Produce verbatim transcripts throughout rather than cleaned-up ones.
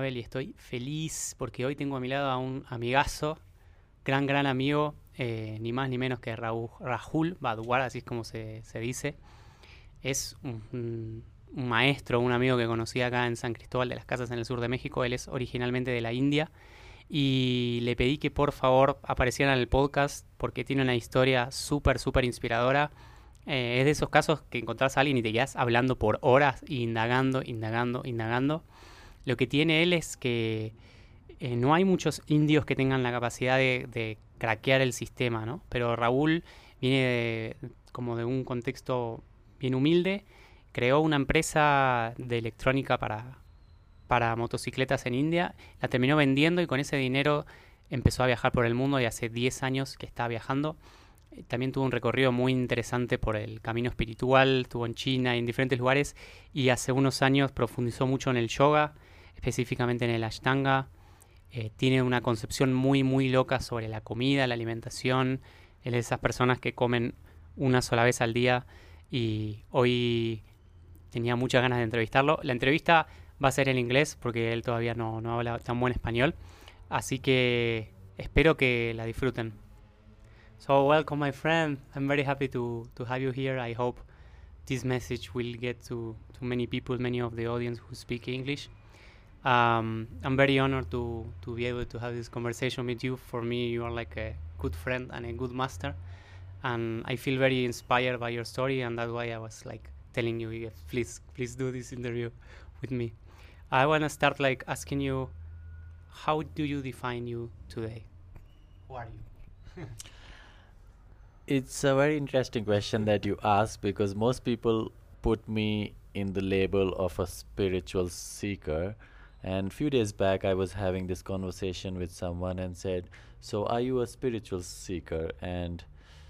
Joel, y estoy feliz porque hoy tengo a mi lado a un amigazo, gran, gran amigo, eh, ni más ni menos que Raúl, Rahul Badwar, así es como se, se dice. Es un, un- un maestro, un amigo que conocí acá en San Cristóbal de las Casas en el sur de México. Él es originalmente de la India y le pedí que por favor apareciera en el podcast porque tiene una historia súper, súper inspiradora. Eh, es de esos casos que encontrás a alguien y te quedás hablando por horas, indagando, indagando, indagando. Lo que tiene él es que eh, no hay muchos indios que tengan la capacidad de, de craquear el sistema, ¿no? Pero Raúl viene de- como de un contexto bien humilde, creó una empresa de electrónica para, para motocicletas en India, la terminó vendiendo y con ese dinero empezó a viajar por el mundo y hace diez años que está viajando. Eh, También tuvo un recorrido muy interesante por el camino espiritual, estuvo en China y en diferentes lugares y hace unos años profundizó mucho en el yoga, específicamente en el Ashtanga. Eh, tiene una concepción muy, muy loca sobre la comida, la alimentación. Él es de esas personas que comen una sola vez al día y hoy tenía muchas ganas de entrevistarlo. La entrevista va a ser en inglés porque él todavía no, no habla tan buen español, así que espero que la disfruten. So, welcome, my friend. I'm very happy to, to have you here. I hope this message will get to, to many people, many of the audience who speak English. Um, I'm very honored to, to be able to have this conversation with you. For me, you are like a good friend and a good master. And I feel very inspired by your story, and that's why I was like telling you, yes, please, please do this interview with me. I want to start like asking you, how do you define you today? Who are you? It's a very interesting question that you ask because most people put me in the label of a spiritual seeker. And few days back, I was having this conversation with someone and said, "So, are you a spiritual seeker?" And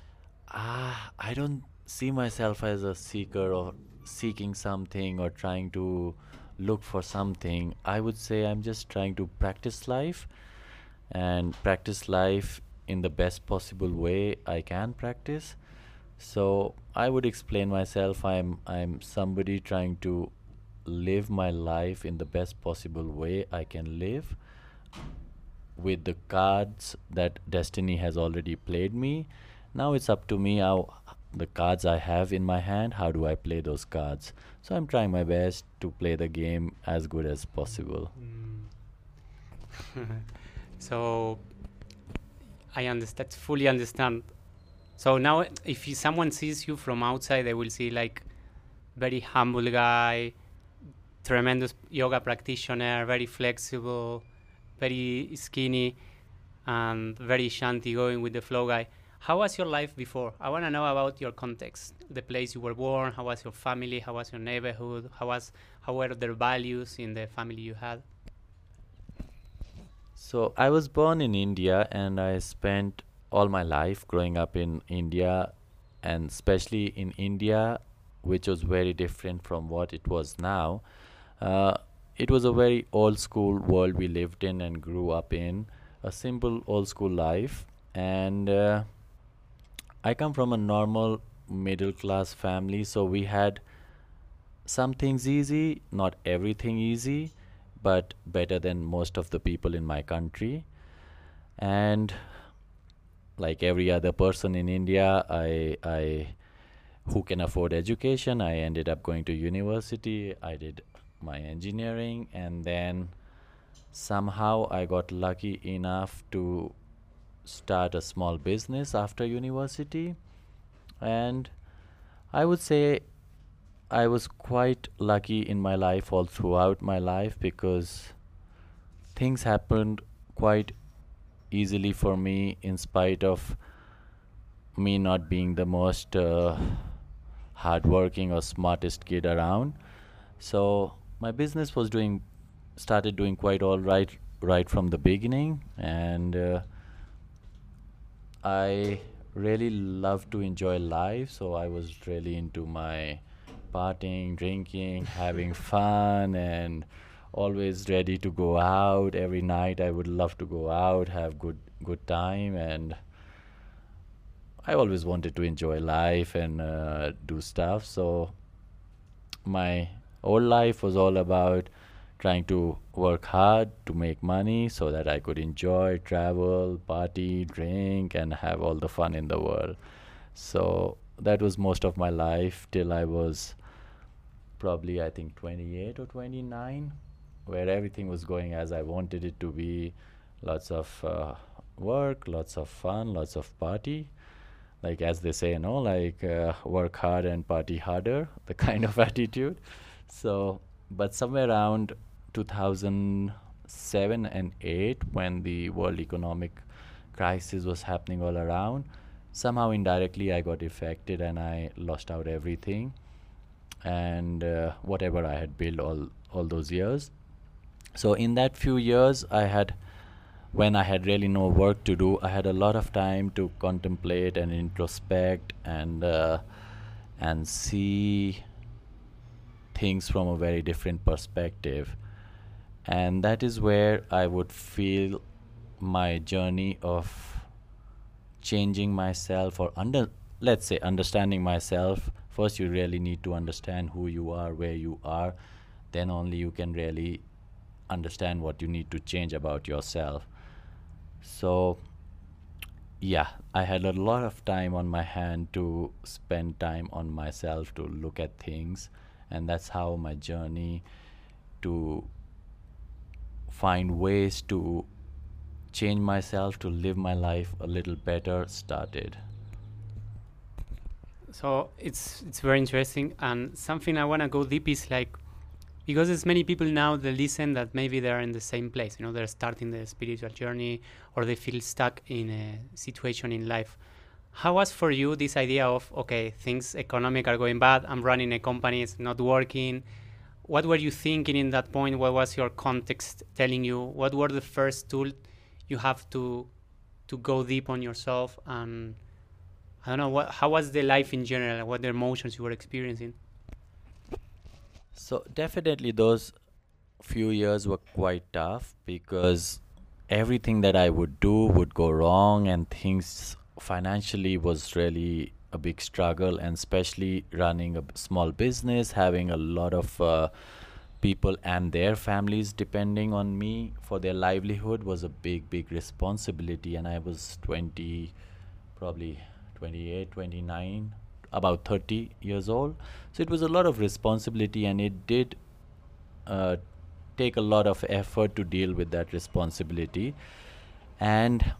ah, I don't see myself as a seeker or seeking something or trying to look for something. I would say I'm just trying to practice life and practice life in the best possible way I can practice. So I would explain myself. I'm I'm somebody trying to live my life in the best possible way I can live with the cards that destiny has already played me. Now it's up to me how the cards I have in my hand, how do I play those cards? So I'm trying my best to play the game as good as possible. Mm. So I understand, fully understand. So now, if you, someone sees you from outside, they will see like very humble guy, tremendous yoga practitioner, very flexible, very skinny, and very shanty, going with the flow guy. How was your life before? I want to know about your context, the place you were born. How was your family? How was your neighborhood? How was how were their values in the family you had? So I was born in India and I spent all my life growing up in India, and especially in India, which was very different from what it was now. Uh, it was a very old school world we lived in and grew up in, a simple old school life. And uh, I come from a normal middle class family, so we had some things easy, not everything easy, but better than most of the people in my country. And like every other person in India, I I who can afford education, I ended up going to university. I did my engineering, and then somehow I got lucky enough to start a small business after university. And I would say I was quite lucky in my life all throughout my life because things happened quite easily for me in spite of me not being the most uh, hardworking or smartest kid around. So my business was doing started doing quite all right right from the beginning, and uh, I really love to enjoy life. So I was really into my partying, drinking, having fun, and always ready to go out every night. I would love to go out, have good good time, and I always wanted to enjoy life and uh, do stuff. So my whole life was all about trying to work hard to make money so that I could enjoy, travel, party, drink, and have all the fun in the world. So that was most of my life till I was probably, I think, twenty-eight or twenty-nine, where everything was going as I wanted it to be. Lots of uh, work, lots of fun, lots of party. Like as they say, you know, like uh, work hard and party harder, the kind of attitude. So, but somewhere around two thousand seven and eight, when the world economic crisis was happening all around, somehow indirectly I got affected and I lost out everything and uh, whatever I had built all all those years. So in that few years, I had when I had really no work to do, I had a lot of time to contemplate and introspect and uh, and see things from a very different perspective. And that is where I would feel my journey of changing myself or under let's say understanding myself. First, you really need to understand who you are, where you are. Then only you can really understand what you need to change about yourself. So, yeah, I had a lot of time on my hand to spend time on myself, to look at things, and that's how my journey to find ways to change myself, to live my life a little better started. So it's it's very interesting, and something I want to go deep is like, because there's many people now that listen that maybe they're in the same place, you know, they're starting the spiritual journey or they feel stuck in a situation in life. How was for you this idea of, okay, things economic are going bad, I'm running a company, it's not working. What were you thinking in that point? What was your context telling you? What were the first tools you have to to go deep on yourself? And I don't know, what, how was the life in general? What the emotions you were experiencing? So definitely those few years were quite tough because everything that I would do would go wrong and things financially was really a big struggle, and especially running a b- small business, having a lot of uh, people and their families depending on me for their livelihood was a big, big responsibility. And I was twenty, probably twenty-eight, twenty-nine, about thirty years old. So it was a lot of responsibility, and it did uh, take a lot of effort to deal with that responsibility. And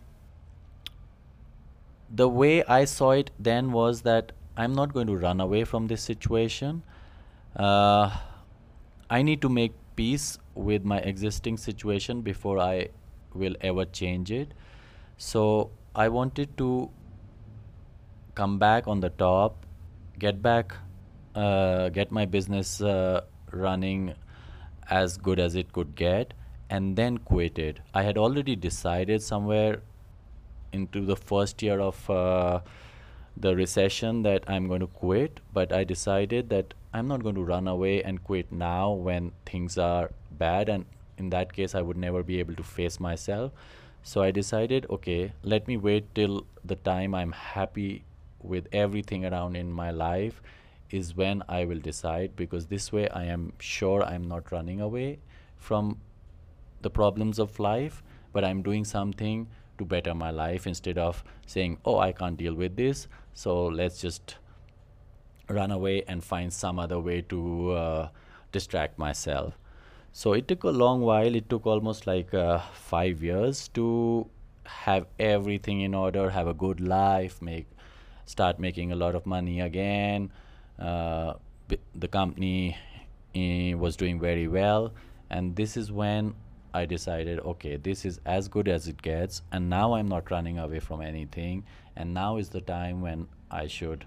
the way I saw it then was that I'm not going to run away from this situation. Uh, I need to make peace with my existing situation before I will ever change it. So I wanted to come back on the top, get back, uh, get my business uh, running as good as it could get, and then quit it. I had already decided somewhere into the first year of uh, the recession that I'm going to quit, but I decided that I'm not going to run away and quit now when things are bad, and in that case, I would never be able to face myself. So I decided, okay, let me wait till the time I'm happy with everything around in my life is when I will decide, because this way I am sure I'm not running away from the problems of life, but I'm doing something to better my life instead of saying, oh, I can't deal with this, so let's just run away and find some other way to uh, distract myself. So it took a long while. It took almost like uh, five years to have everything in order, have a good life, make start making a lot of money again. Uh, b- the company eh, was doing very well, and this is when I decided, okay, this is as good as it gets, and now I'm not running away from anything, and now is the time when I should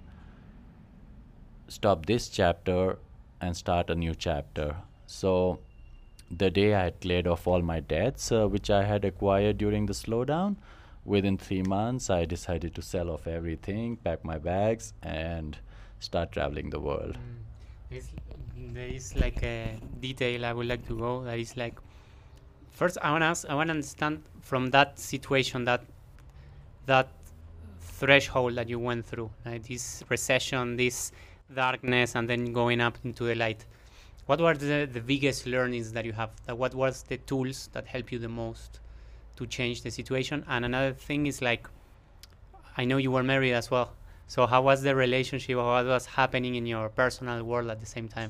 stop this chapter and start a new chapter. So the day I had cleared off all my debts, uh, which I had acquired during the slowdown, within three months, I decided to sell off everything, pack my bags, and start traveling the world. It's, there is like a detail I would like to go. That is like, first I want to ask, I want to understand from that situation, that that threshold that you went through, like this recession, this darkness, and then going up into the light. what were the, the biggest learnings that you have? That what was the tools that help you the most to change the situation? And another thing is like, I know you were married as well. So how was the relationship, or what was happening in your personal world at the same time?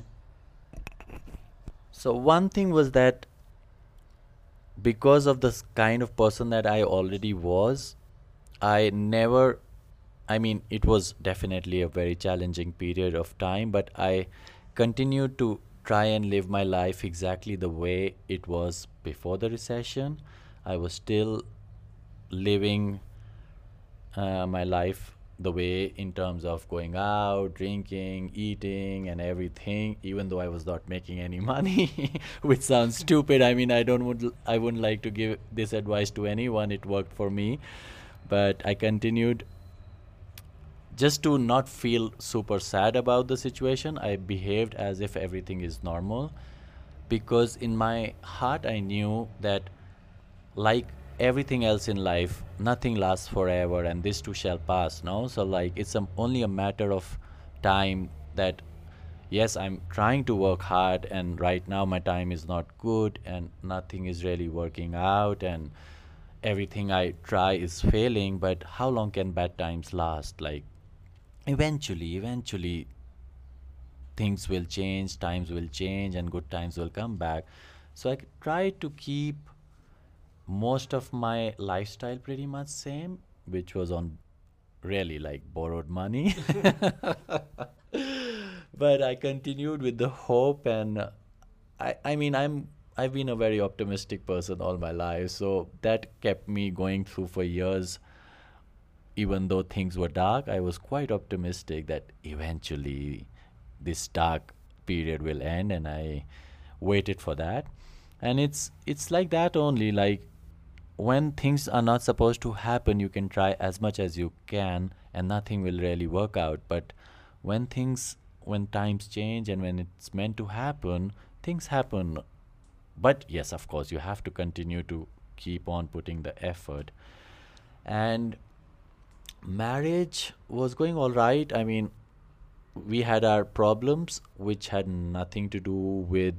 So one thing was that because of the s- kind of person that I already was, I never, I mean, it was definitely a very challenging period of time, but I continued to try and live my life exactly the way it was before the recession. I was still living uh, my life the way in terms of going out, drinking, eating, and everything, even though I was not making any money, which sounds stupid. I mean, I don't would I wouldn't like to give this advice to anyone. It worked for me, but I continued just to not feel super sad about the situation. I behaved as if everything is normal because in my heart I knew that, like everything else in life, nothing lasts forever and this too shall pass, no? So like it's a, only a matter of time that yes, I'm trying to work hard and right now my time is not good and nothing is really working out and everything I try is failing, but how long can bad times last? Like eventually eventually things will change, times will change, and good times will come back. So I try to keep most of my lifestyle pretty much same, which was on really like borrowed money. But I continued with the hope, and uh, I I mean I'm I've been a very optimistic person all my life, so that kept me going through for years. Even though things were dark, I was quite optimistic that eventually this dark period will end, and I waited for that. And it's it's like that only. Like when things are not supposed to happen, you can try as much as you can, and nothing will really work out. But when things, when times change, and when it's meant to happen, things happen. But yes, of course, you have to continue to keep on putting the effort. And marriage was going all right. I mean, we had our problems, which had nothing to do with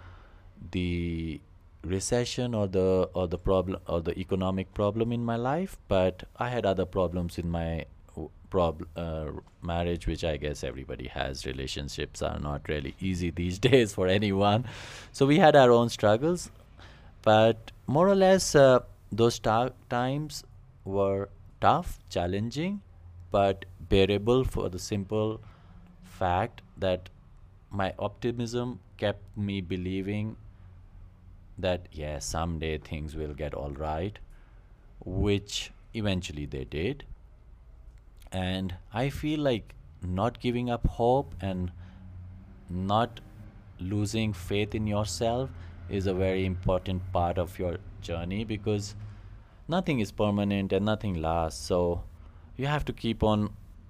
the recession or the or the problem or the economic problem in my life, but I had other problems in my w- prob uh, marriage, which I guess everybody has. Relationships are not really easy these days for anyone, so we had our own struggles, but more or less uh, those ta- times were tough, challenging, but bearable for the simple fact that my optimism kept me believing that yeah, someday things will get all right, which eventually they did. And I feel like not giving up hope and not losing faith in yourself is a very important part of your journey, because nothing is permanent and nothing lasts. So you have to keep on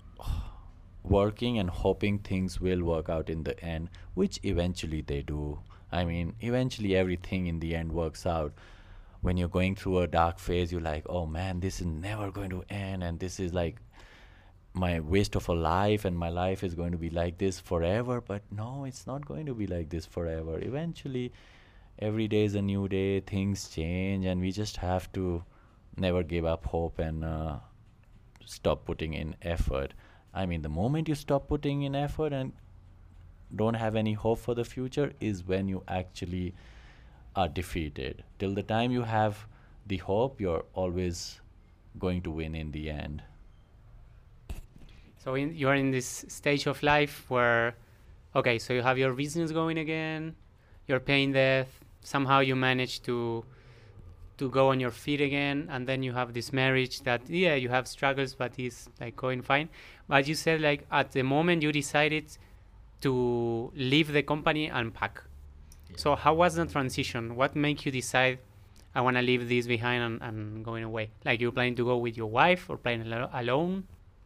working and hoping things will work out in the end, which eventually they do. I mean, eventually everything in the end works out. When you're going through a dark phase, you're like, oh man, this is never going to end, and this is like my waste of a life, and my life is going to be like this forever. But no, it's not going to be like this forever. Eventually, every day is a new day, things change, and we just have to never give up hope and uh, stop putting in effort. I mean, the moment you stop putting in effort and don't have any hope for the future is when you actually are defeated. Till the time you have the hope, you're always going to win in the end. So in, you're in this stage of life where, okay, so you have your business going again, you're paying debt, somehow you manage to to go on your feet again, and then you have this marriage that, yeah, you have struggles, but it's like going fine. But you said like at the moment you decided to leave the company and pack. Yeah. So how was the transition? What made you decide I want to leave this behind and, and going away? Like you planning to go with your wife or planning alo- alone?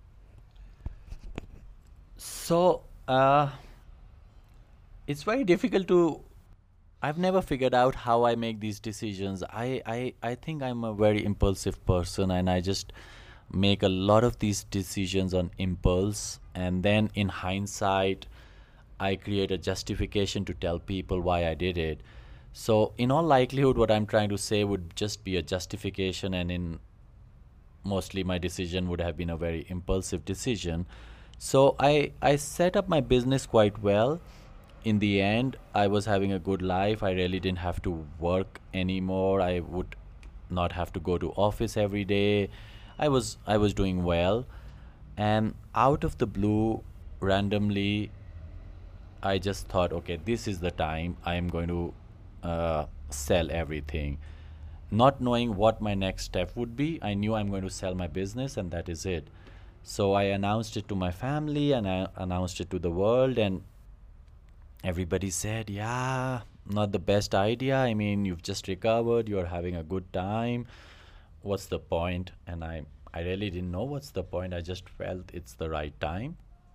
So, uh, it's very difficult to. I've never figured out how I make these decisions. I, I, I think I'm a very impulsive person, and I just make a lot of these decisions on impulse. And then in hindsight, I create a justification to tell people why I did it. So in all likelihood, what I'm trying to say would just be a justification, and in mostly my decision would have been a very impulsive decision. So I I set up my business quite well. In the end, I was having a good life. I really didn't have to work anymore. I would not have to go to office every day. I was I was doing well, and out of the blue, randomly, I just thought, okay, this is the time I am going to uh, sell everything. Not knowing what my next step would be, I knew I'm going to sell my business, and that is it. So I announced it to my family, and I announced it to the world, and everybody said, yeah, not the best idea. I mean, you've just recovered, you're having a good time. What's the point? And I, I really didn't know what's the point. I just felt it's the right time.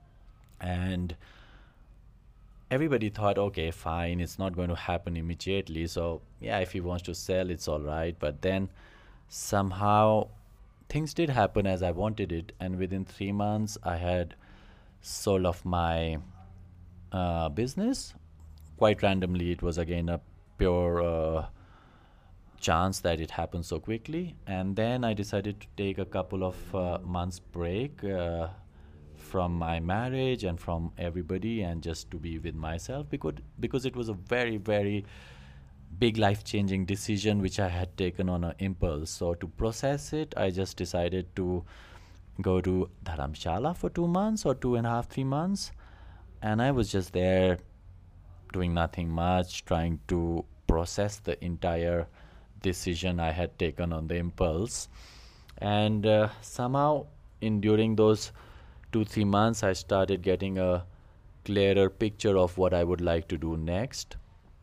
And everybody thought, okay, fine, it's not going to happen immediately. So, yeah, if he wants to sell, it's all right. But then somehow things did happen as I wanted it. And within three months, I had sold off my uh, business. Quite randomly, it was again a pure uh, chance that it happened so quickly. And then I decided to take a couple of uh, months break uh, from my marriage and from everybody, and just to be with myself, because because it was a very very big life-changing decision which I had taken on an impulse. So to process it, I just decided to go to Dharamshala for two months or two and a half three months, and I was just there doing nothing much, trying to process the entire decision I had taken on the impulse. And uh, somehow in during those two three months, I started getting a clearer picture of what I would like to do next.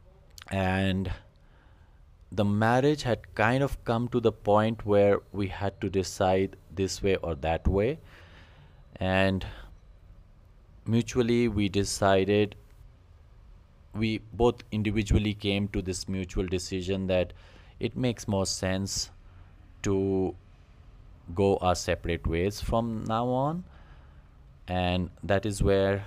And the marriage had kind of come to the point where we had to decide this way or that way, and mutually we decided, we both individually came to this mutual decision that it makes more sense to go our separate ways from now on. And that is where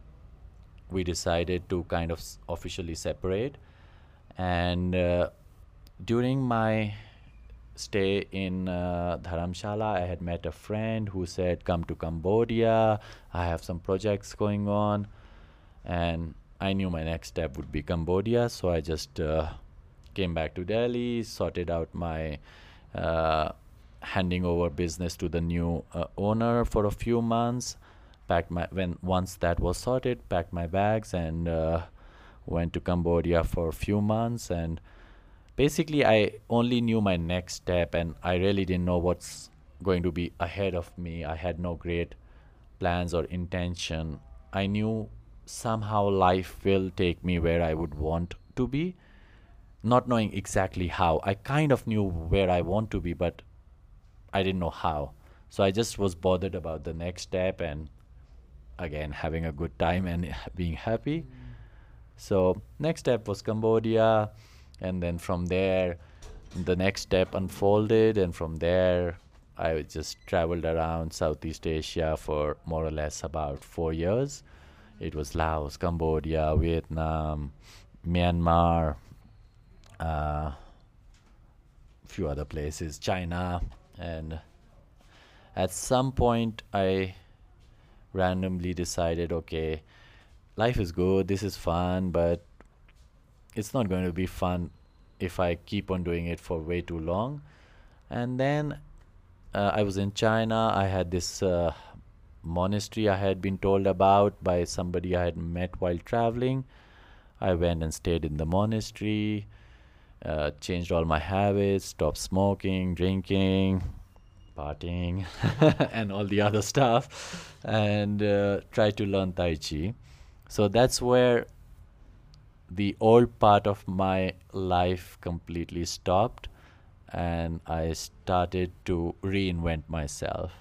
we decided to kind of s- officially separate. And uh, during my stay in uh, Dharamshala, I had met a friend who said, come to Cambodia, I have some projects going on. And I knew my next step would be Cambodia, so I just uh, came back to Delhi, sorted out my uh, handing over business to the new uh, owner for a few months. Packed my when once that was sorted, packed my bags and uh, went to Cambodia for a few months. And basically, I only knew my next step, and I really didn't know what's going to be ahead of me. I had no great plans or intention. I knew somehow life will take me where I would want to be, not knowing exactly how. I kind of knew where I want to be, but I didn't know how. So I just was bothered about the next step, and again, having a good time and being happy. So next step was Cambodia, and then from there, the next step unfolded, and from there, I just traveled around Southeast Asia for more or less about four years. It was Laos, Cambodia, Vietnam, Myanmar, a few other places, China, and at some point I randomly decided, okay, life is good, this is fun, but it's not going to be fun if I keep on doing it for way too long. And then uh, I was in China. I had this uh, monastery I had been told about by somebody I had met while traveling. I went and stayed in the monastery, uh, changed all my habits, stopped smoking, drinking, partying, and all the other stuff, and uh, tried to learn Tai Chi. So that's where the old part of my life completely stopped, and I started to reinvent myself.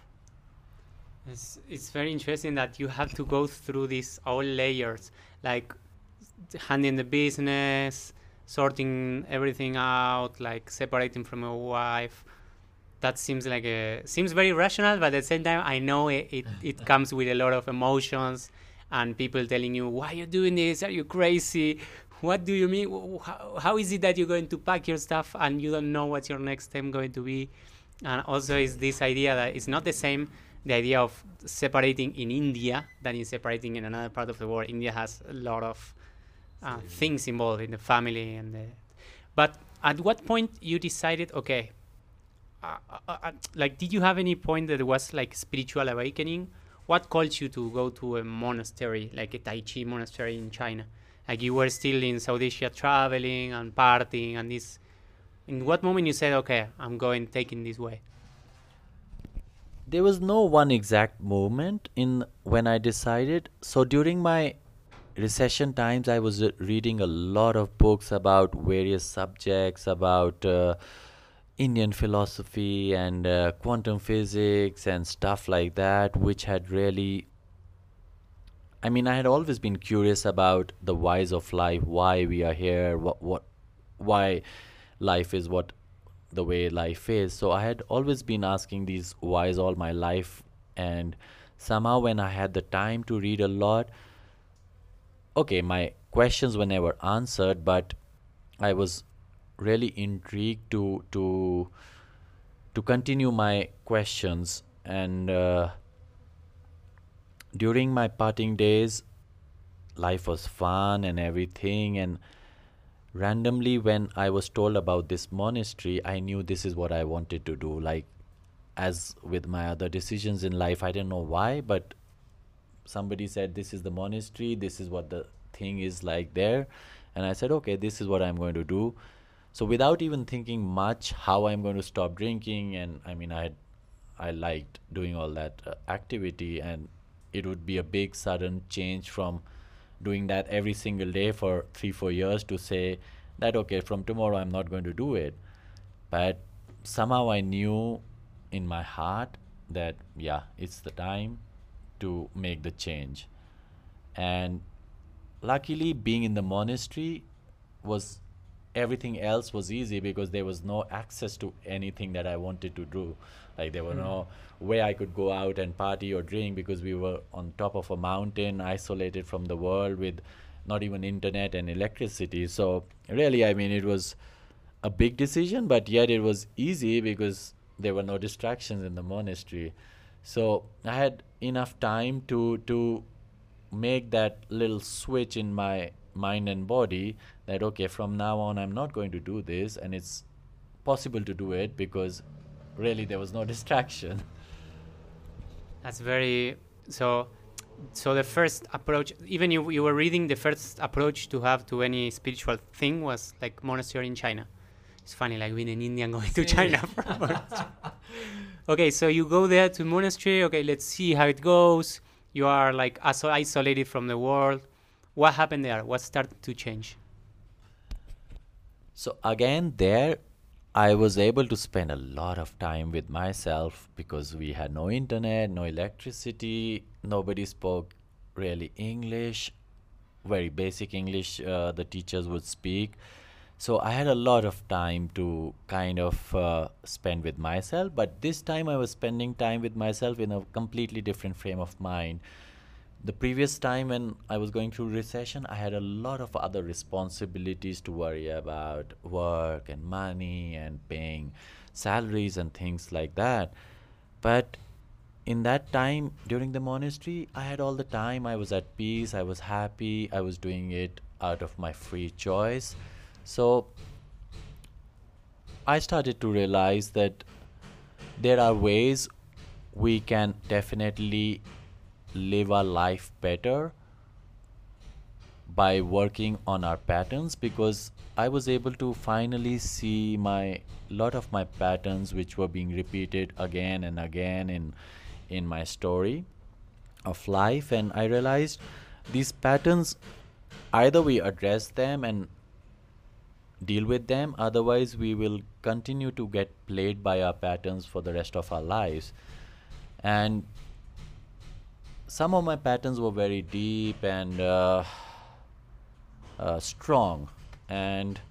It's, it's very interesting that you have to go through these all layers, like handling the business, sorting everything out, like separating from your wife. That seems like a seems very rational, but at the same time, I know it, it, it comes with a lot of emotions and people telling you, why are you doing this? Are you crazy? What do you mean? Wh- How, how is it that you're going to pack your stuff and you don't know what's your next step going to be? And also is this idea that it's not the same, the idea of separating in India than in separating in another part of the world. India has a lot of uh, things involved in the family and the, but at what point you decided, okay, uh, uh, uh, like, did you have any point that was like spiritual awakening? What caused you to go to a monastery, like a Tai Chi monastery in China? Like you were still in South Asia traveling and partying and this. In what moment you said, okay, I'm going taking this way? There was no one exact moment in when I decided. So during my recession times, I was uh, reading a lot of books about various subjects, about uh, Indian philosophy and uh, quantum physics and stuff like that, which had really, I mean, I had always been curious about the whys of life, why we are here, what, what, why life is what the way life is. So I had always been asking these whys all my life, and somehow when I had the time to read a lot, okay, my questions were never answered, but I was really intrigued to to to continue my questions. And uh, during my parting days, life was fun and everything. And randomly, when I was told about this monastery, I knew this is what I wanted to do. Like, as with my other decisions in life, I didn't know why, but somebody said, this is the monastery, this is what the thing is like there. And I said, okay, this is what I'm going to do. So without even thinking much how I'm going to stop drinking, and I mean, I had, I liked doing all that uh, activity, and it would be a big sudden change from doing that every single day for three, four years to say that, okay, from tomorrow I'm not going to do it. But somehow I knew in my heart that, yeah, it's the time to make the change. And luckily, being in the monastery was, everything else was easy because there was no access to anything that I wanted to do. Like there were Mm. no way I could go out and party or drink because we were on top of a mountain, isolated from the world, with not even internet and electricity. So really, I mean, it was a big decision, but yet it was easy because there were no distractions in the monastery. So I had enough time to to make that little switch in my mind and body that, okay, from now on I'm not going to do this, and it's possible to do it because really there was no distraction. That's very so. So the first approach, even you you were reading, the first approach to have to any spiritual thing was like monastery in China. It's funny, like being an Indian going to China for a monastery. Okay, so you go there to monastery. Okay, let's see how it goes. You are like iso- isolated from the world. What happened there? What started to change? So again, there I was able to spend a lot of time with myself because we had no internet, no electricity, nobody spoke really English, very basic English uh, the teachers would speak. So I had a lot of time to kind of uh, spend with myself, but this time I was spending time with myself in a completely different frame of mind. The previous time when I was going through recession, I had a lot of other responsibilities to worry about, work and money and paying salaries and things like that. But in that time during the monastery, I had all the time. I was at peace, I was happy, I was doing it out of my free choice. So I started to realize that there are ways we can definitely live our life better by working on our patterns, because I was able to finally see my lot of my patterns which were being repeated again and again in in my story of life. And I realized these patterns, either we address them and deal with them, otherwise we will continue to get played by our patterns for the rest of our lives. And some of my patterns were very deep and uh, uh, strong, and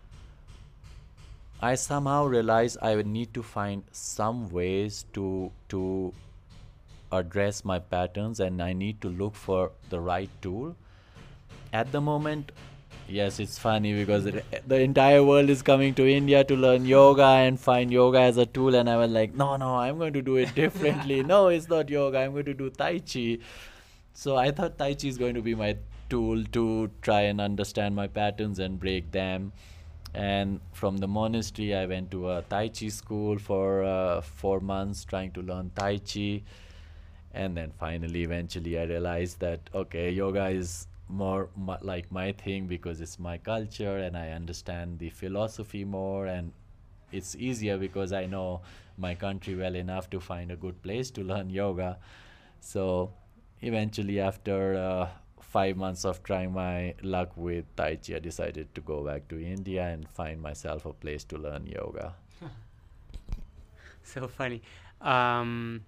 I somehow realized I would need to find some ways to to address my patterns and I need to look for the right tool. At the moment, yes, it's funny because it, the entire world is coming to India to learn yoga and find yoga as a tool, and I was like, no, no, I'm going to do it differently. No, it's not yoga, I'm going to do Tai Chi. So I thought Tai Chi is going to be my tool to try and understand my patterns and break them. And from the monastery, I went to a Tai Chi school for uh, four months trying to learn Tai Chi. And then finally, eventually, I realized that, okay, yoga is more m- like my thing because it's my culture and I understand the philosophy more. And it's easier because I know my country well enough to find a good place to learn yoga. So eventually, after uh, five months of trying my luck with Tai Chi, I decided to go back to India and find myself a place to learn yoga. So funny. Um,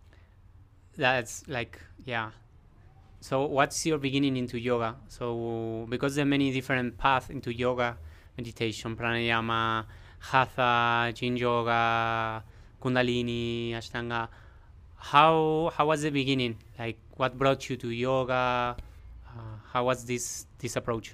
that's like, yeah. So what's your beginning into yoga? So because there are many different paths into yoga, meditation, pranayama, hatha, yin yoga, kundalini, ashtanga. How how was the beginning? Like what brought you to yoga? Uh, how was this this approach?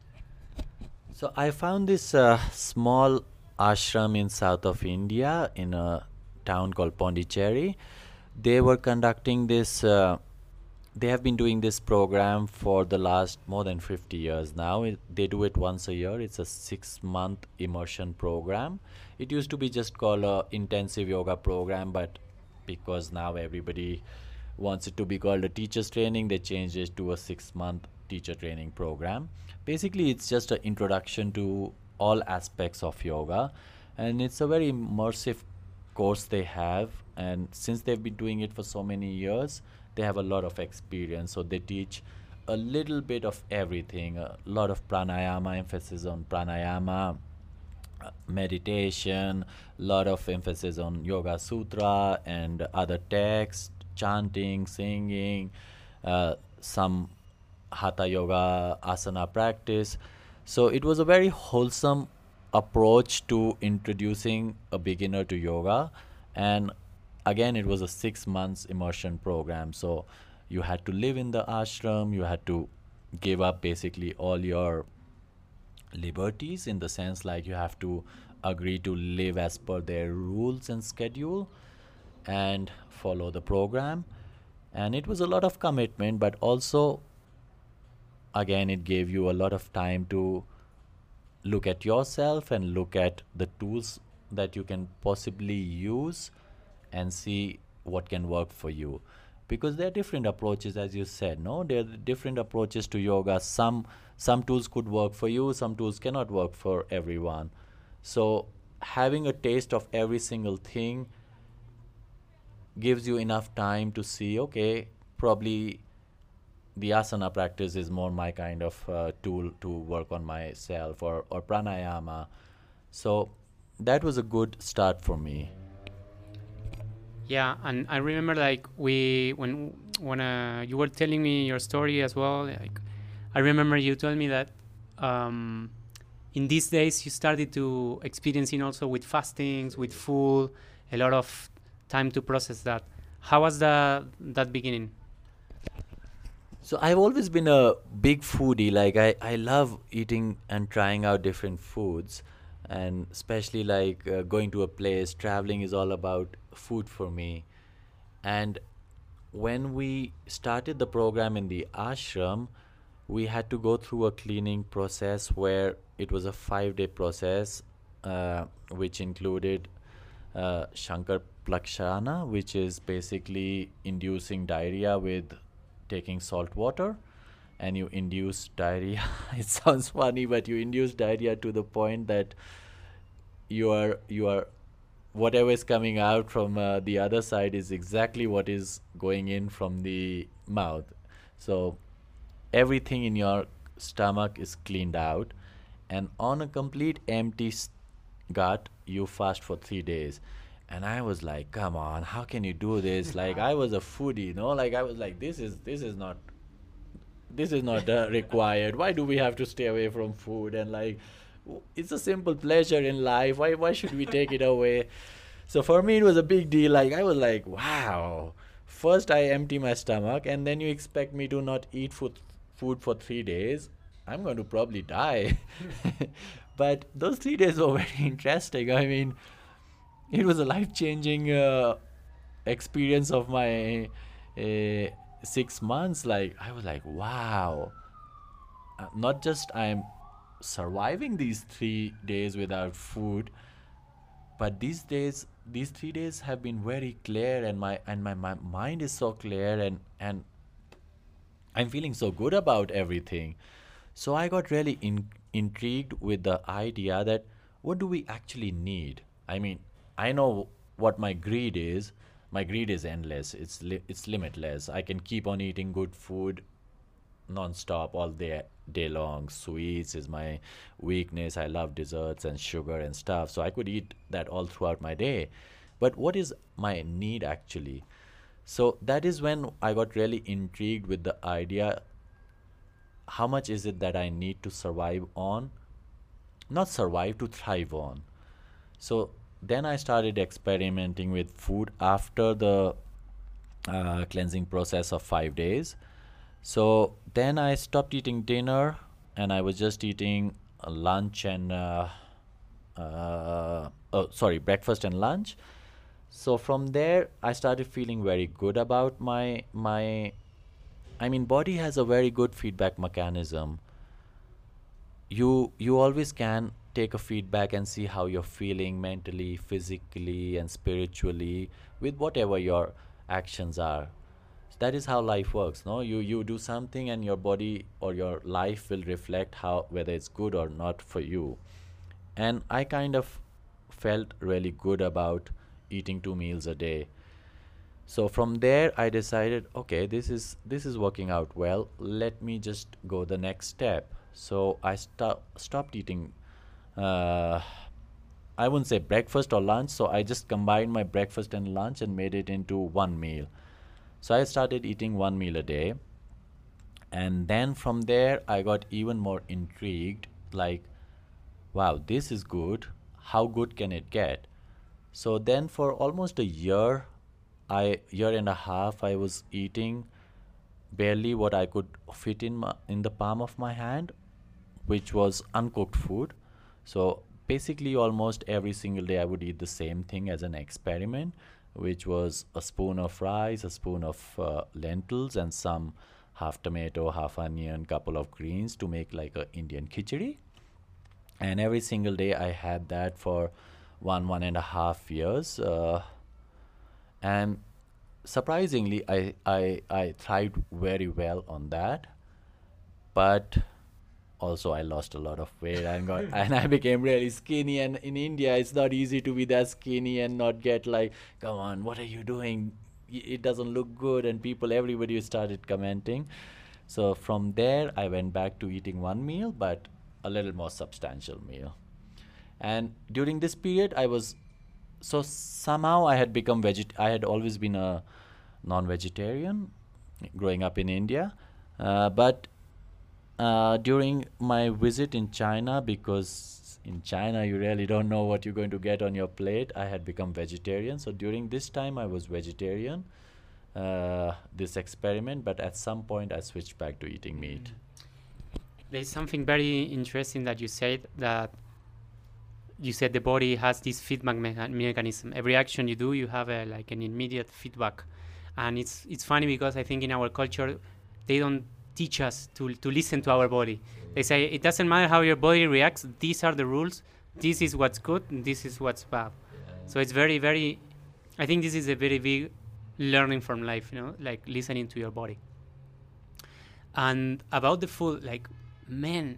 So I found this uh, small ashram in south of India in a town called Pondicherry. They were conducting this. Uh, they have been doing this program for the last more than fifty years now. It, they do it once a year. It's a six-month immersion program. It used to be just called a intensive yoga program, but because now everybody wants it to be called a teacher's training, they changed it to a six-month teacher training program. Basically, it's just an introduction to all aspects of yoga, and it's a very immersive course they have. And since they've been doing it for so many years, they have a lot of experience. So they teach a little bit of everything, a lot of pranayama, emphasis on pranayama, uh, meditation, lot of emphasis on Yoga Sutra and other texts, chanting, singing, uh, some Hatha Yoga asana practice. So it was a very wholesome approach to introducing a beginner to yoga. And again, it was a six months immersion program. So you had to live in the ashram, you had to give up basically all your liberties, in the sense like you have to agree to live as per their rules and schedule and follow the program. And it was a lot of commitment, but also again it gave you a lot of time to look at yourself and look at the tools that you can possibly use and see what can work for you, because there are different approaches, as you said. No, there are different approaches to yoga. Some some tools could work for you, some tools cannot work for everyone. So having a taste of every single thing gives you enough time to see, okay, probably the asana practice is more my kind of uh, tool to work on myself, or, or pranayama. So that was a good start for me. Yeah, and I remember like we when when uh, you were telling me your story as well. Like I remember you told me that um, in these days you started to experiencing also with fastings, with food, a lot of time to process that. How was the that beginning? So I've always been a big foodie. Like I, I love eating and trying out different foods, and especially like uh, going to a place, traveling is all about food for me. And when we started the program in the ashram, we had to go through a cleaning process where it was a five day process, uh, which included uh, Shankar Plakshana, which is basically inducing diarrhea with taking salt water. And you induce diarrhea. It sounds funny, but you induce diarrhea to the point that you are you are whatever is coming out from uh, the other side is exactly what is going in from the mouth. So everything in your stomach is cleaned out, and on a complete empty s- gut you fast for three days. And I was like, come on, how can you do this? Like, I was a foodie, you know, like I was like, this is this is not this is not uh, required. Why do we have to stay away from food? And like, w- it's a simple pleasure in life. Why why should we take it away? So for me, it was a big deal. Like, I was like, wow, first I empty my stomach, and then you expect me to not eat food food for three days. I'm going to probably die. But those three days were very interesting. I mean, it was a life changing uh, experience of my uh, six months. Like, I was like, wow. Uh, not just I'm surviving these three days without food, but these days, these three days have been very clear, and my and my, my mind is so clear, and and I'm feeling so good about everything. So I got really in, intrigued with the idea that what do we actually need? I mean, I know what my greed is. My greed is endless. It's li- it's limitless. I can keep on eating good food non-stop all day day long. Sweets is my weakness. I love desserts and sugar and stuff. So I could eat that all throughout my day. But what is my need actually? So that is when I got really intrigued with the idea, how much is it that I need to survive on? Not survive, to thrive on. So then I started experimenting with food after the uh, cleansing process of five days. So then I stopped eating dinner, and I was just eating uh, lunch and uh, uh, oh, sorry, breakfast and lunch. So from there, I started feeling very good about my my. I mean, body has a very good feedback mechanism. You you always can take a feedback and see how you're feeling mentally, physically, and spiritually with whatever your actions are. That is how life works, no? You you do something, and your body or your life will reflect how, whether it's good or not for you. And I kind of felt really good about eating two meals a day. So from there I decided, okay, this is this is working out well. Let me just go the next step. So I sto- stopped eating uh, I wouldn't say breakfast or lunch, so I just combined my breakfast and lunch and made it into one meal. So I started eating one meal a day. And then from there, I got even more intrigued, like, wow, this is good. How good can it get? So then for almost a year, I year and a half, I was eating barely what I could fit in my, in the palm of my hand, which was uncooked food. So basically, almost every single day, I would eat the same thing as an experiment, which was a spoon of rice, a spoon of uh, lentils, and some half tomato, half onion, couple of greens to make like a Indian khichdi. And every single day, I had that for one one and a half years, uh, and surprisingly, I I I thrived very well on that. But also I lost a lot of weight and got and I became really skinny, and in India it's not easy to be that skinny and not get like, come on, what are you doing? Y- It doesn't look good, and people, everybody started commenting. So from there I went back to eating one meal, but a little more substantial meal. And during this period I was so somehow I had become veget I had always been a non-vegetarian growing up in India. Uh, but uh, during my visit in China, because in China you really don't know what you're going to get on your plate, I had become vegetarian. So during this time I was vegetarian, uh, this experiment, but at some point I switched back to eating meat. There's something very interesting that you said, that you said the body has this feedback mecha- mechanism. Every action you do, you have a, like an immediate feedback. And it's it's funny because I think in our culture, they don't teach us to, to listen to our body. They say it doesn't matter how your body reacts. These are the rules. This is what's good, and this is what's bad. So it's very, very, I think this is a very big learning from life, you know, like listening to your body. And about the food, like, man,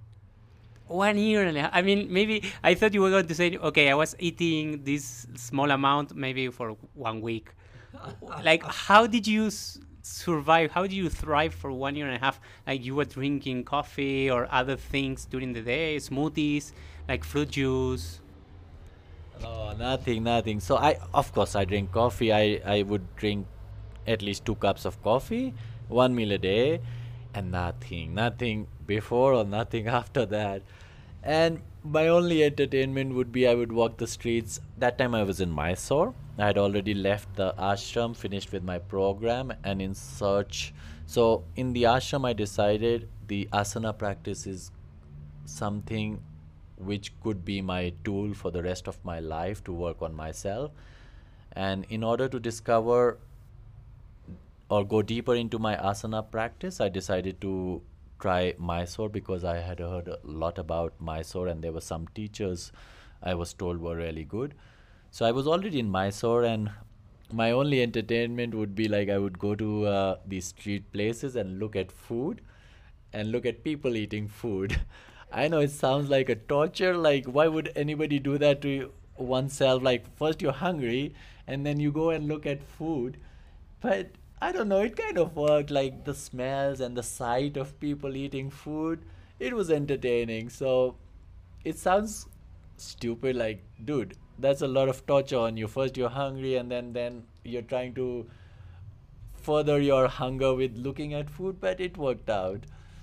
one year and a half. I mean, maybe I thought you were going to say, okay, I was eating this small amount maybe for one week. Like, how did you s- survive? How did you thrive for one year and a half? Like, you were drinking coffee or other things during the day, smoothies, like fruit juice. No, nothing, nothing. So I, of course, I drink coffee. I, I would drink at least two cups of coffee, one meal a day, and nothing, nothing before or nothing after that. And my only entertainment would be I would walk the streets. That time I was in Mysore. I had already left the ashram, finished with my program, and in search. So in the ashram, I decided the asana practice is something which could be my tool for the rest of my life to work on myself. And in order to discover or go deeper into my asana practice, I decided to try Mysore because I had heard a lot about Mysore and there were some teachers I was told were really good. So I was already in Mysore, and my only entertainment would be like I would go to uh, these street places and look at food and look at people eating food. I know it sounds like a torture. Like, why would anybody do that to oneself? Like, first you're hungry and then you go and look at food. But I don't know, it kind of worked. Like, the smells and the sight of people eating food, it was entertaining. So it sounds stupid, like, dude, that's a lot of torture on you. First you're hungry and then then you're trying to further your hunger with looking at food, but it worked out.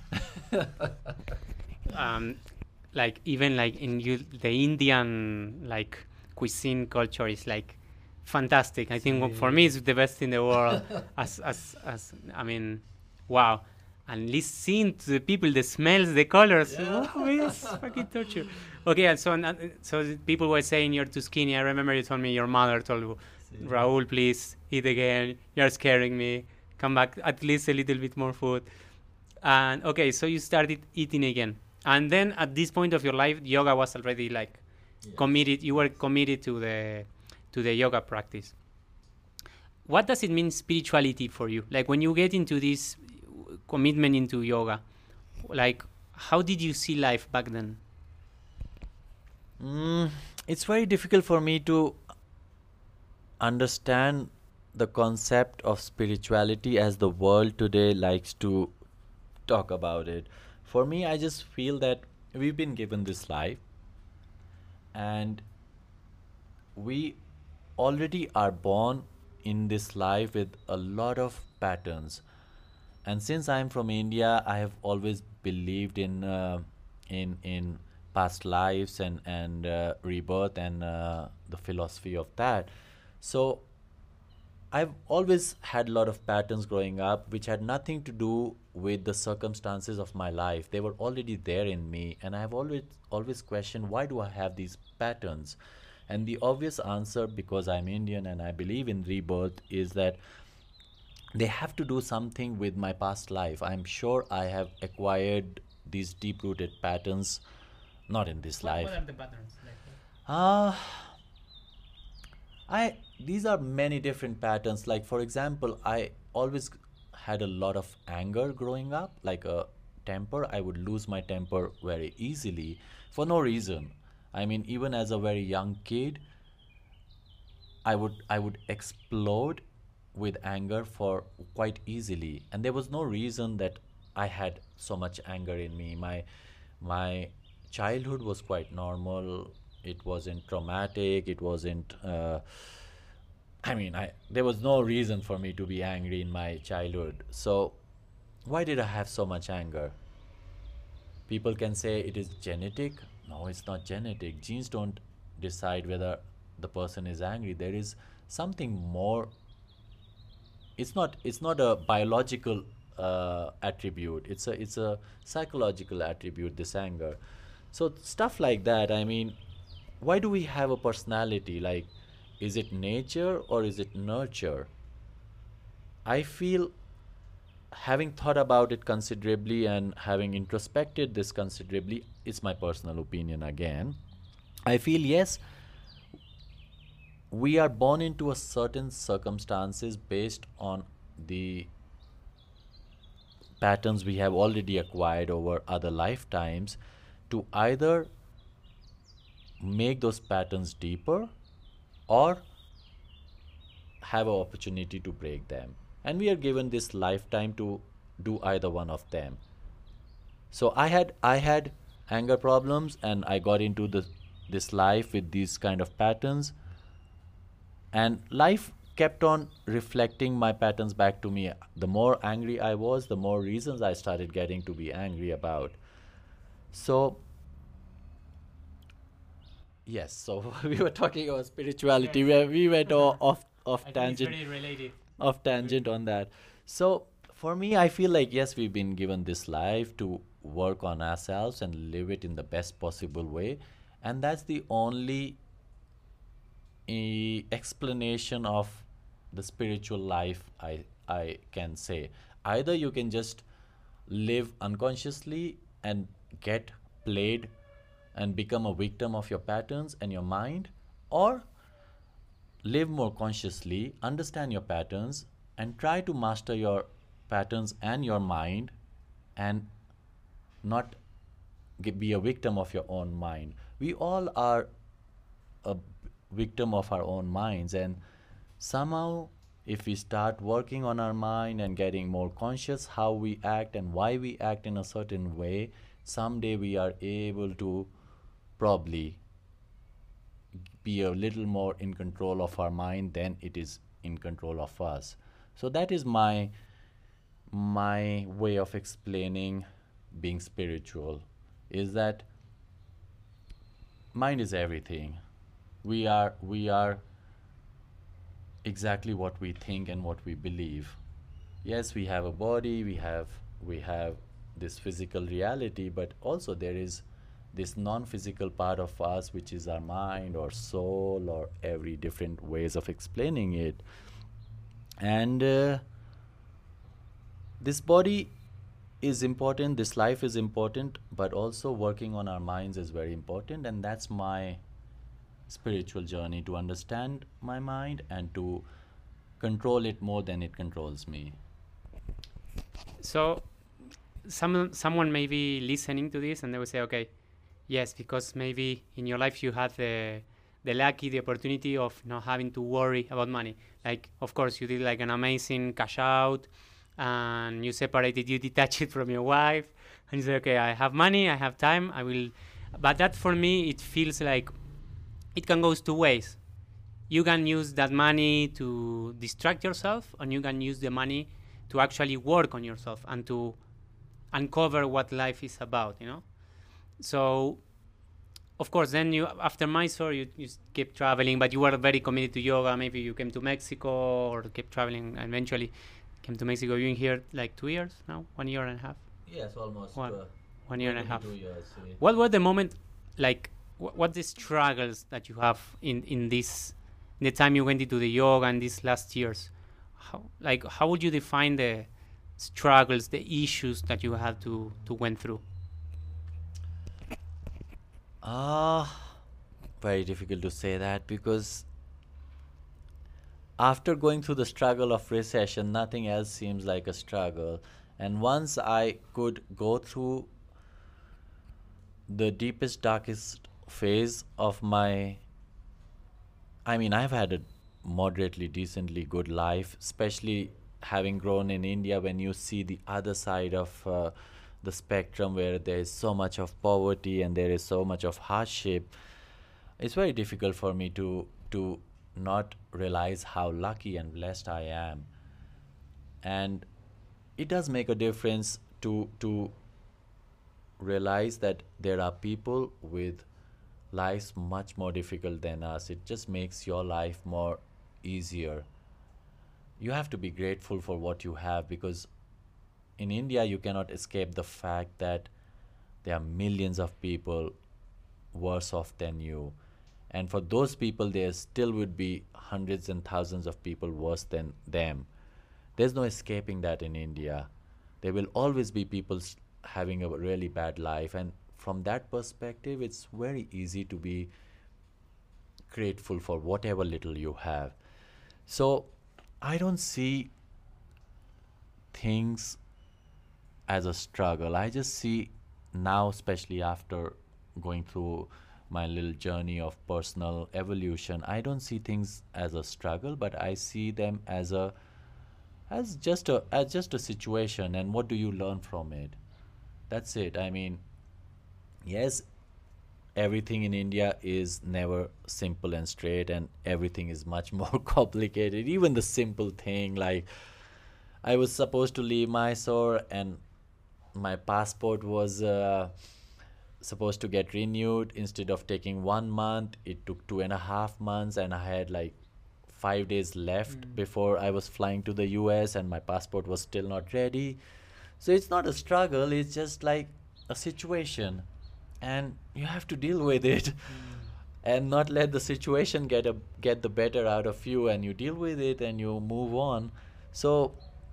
um, like even like in you, the Indian like cuisine culture is like fantastic. I think for me it's the best in the world. as as as I mean, wow. And listening to the people, the smells, the colors, Yeah. oh, it's fucking torture. Okay, and so and, so people were saying you're too skinny. I remember you told me your mother told you, Raul, please eat again. You're scaring me. Come back, at least a little bit more food. And okay, so you started eating again. And then at this point of your life, yoga was already like Yes. committed. You were committed to the to the yoga practice. What does it mean spirituality for you? Like when you get into this commitment into yoga, like how did you see life back then? Mm, it's very difficult for me to understand the concept of spirituality as the world today likes to talk about it. For me, I just feel that we've been given this life and we already are born in this life with a lot of patterns. And since I'm from India, I have always believed in uh, in in past lives and and uh, rebirth and uh, the philosophy of that. So I've always had a lot of patterns growing up, which had nothing to do with the circumstances of my life. They were already there in me, and I've always always questioned why do I have these patterns. And the obvious answer, because I'm Indian and I believe in rebirth, is that they have to do something with my past life. I'm sure I have acquired these deep-rooted patterns, not in this life. What are the patterns? Like, Ah, I these are many different patterns. Like for example, I always had a lot of anger growing up, like a temper. I would lose my temper very easily for no reason. I mean, even as a very young kid, I would I would explode with anger for quite easily, and there was no reason that I had so much anger in me. My my childhood was quite normal. It wasn't traumatic. It wasn't. Uh, I mean, I there was no reason for me to be angry in my childhood. So, why did I have so much anger? People can say it is genetic. No, it's not genetic. Genes don't decide whether the person is angry. There is something more. It's not. It's not a biological uh, attribute. It's a. It's a psychological attribute. This anger. So stuff like that. I mean, why do we have a personality? Like, is it nature or is it nurture? I feel, having thought about it considerably and having introspected this considerably, it's my personal opinion again. I feel yes, we are born into a certain circumstances based on the patterns we have already acquired over other lifetimes to either make those patterns deeper or have an opportunity to break them. And we are given this lifetime to do either one of them. So I had I had anger problems and I got into the this life with these kind of patterns, and life kept on reflecting my patterns back to me. The more angry I was, the more reasons I started getting to be angry about. So Yes, so we were talking about spirituality where we went o- off off I think it's tangent very related. off tangent on that. So for me, I feel like yes, we've been given this life to work on ourselves and live it in the best possible way, and that's the only eh, explanation of the spiritual life I I can say. Either you can just live unconsciously and get played and become a victim of your patterns and your mind, or live more consciously, understand your patterns, and try to master your patterns and your mind and not ge- be a victim of your own mind. We all are a b- victim of our own minds, and somehow, if we start working on our mind and getting more conscious how we act and why we act in a certain way, someday we are able to probably be a little more in control of our mind than it is in control of us. So that is my my way of explaining being spiritual, is that mind is everything. We are we are exactly what we think and what we believe. Yes, we have a body, we have we have this physical reality, but also there is this non-physical part of us, which is our mind or soul or every different ways of explaining it. And uh, this body is important, this life is important, but also working on our minds is very important, and that's my spiritual journey, to understand my mind and to control it more than it controls me. So, some someone may be listening to this and they will say, okay, yes, because maybe in your life you had the the lucky, the opportunity of not having to worry about money. Like, of course, you did like an amazing cash out, and you separated, you detached it from your wife, and you say, okay, I have money, I have time, I will. But that for me, it feels like it can go two ways. You can use that money to distract yourself, and you can use the money to actually work on yourself and to uncover what life is about, you know? So, of course, then you, after Mysore, you, you keep traveling, but you were very committed to yoga. Maybe you came to Mexico or kept traveling and eventually came to Mexico. You've been here like two years now, one year and a half, Yes, almost. one, Uh, one year and a going to half. be two years. eh. What were the moment, like, wh- what the struggles that you have in, in this, in the time you went into the yoga and these last years? How, like, how would you define the struggles, the issues that you had to, to went through? Ah, very difficult to say that, because after going through the struggle of recession, nothing else seems like a struggle. And once I could go through the deepest, darkest phase of my, I mean, I've had a moderately, decently good life, especially having grown in India. When you see the other side of uh, the spectrum where there is so much of poverty and there is so much of hardship, it's very difficult for me to to not realize how lucky and blessed I am. And it does make a difference to to realize that there are people with lives much more difficult than us. It just makes your life more easier. You have to be grateful for what you have, because in India you cannot escape the fact that there are millions of people worse off than you. And for those people, there still would be hundreds and thousands of people worse than them. There's no escaping that in India. There will always be people s- having a really bad life. And from that perspective, it's very easy to be grateful for whatever little you have. So I don't see things as a struggle. I just see now, especially after going through my little journey of personal evolution, I don't see things as a struggle, but I see them as a as just a as just a situation. And what do you learn from it? That's it. I mean, yes, everything in India is never simple and straight, and everything is much more complicated. Even the simple thing like I was supposed to leave Mysore, and my passport was uh, supposed to get renewed. Instead of taking one month, it took two and a half months, and I had like five days left Mm. before I was flying to the U S, and my passport was still not ready. So it's not a struggle, it's just like a situation, and you have to deal with it. And not let the situation get a get the better out of you, and you deal with it and you move on. So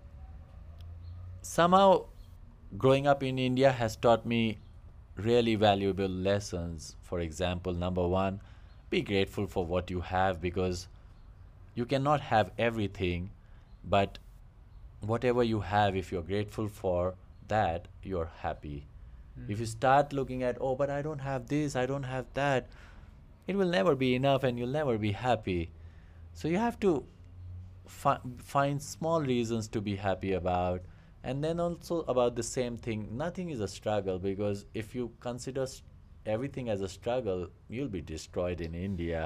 somehow growing up in India has taught me really valuable lessons. For example, number one, be grateful for what you have, because you cannot have everything, but whatever you have, if you're grateful for that, you're happy. Mm. If you start looking at, oh, but I don't have this, I don't have that, it will never be enough and you'll never be happy. So you have to fi- find small reasons to be happy about. And then also about the same thing, nothing is a struggle, because if you consider s- everything as a struggle, you'll be destroyed in India.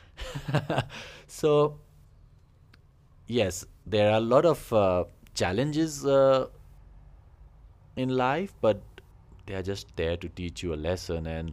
So, yes, there are a lot of uh, challenges uh, in life, but they are just there to teach you a lesson and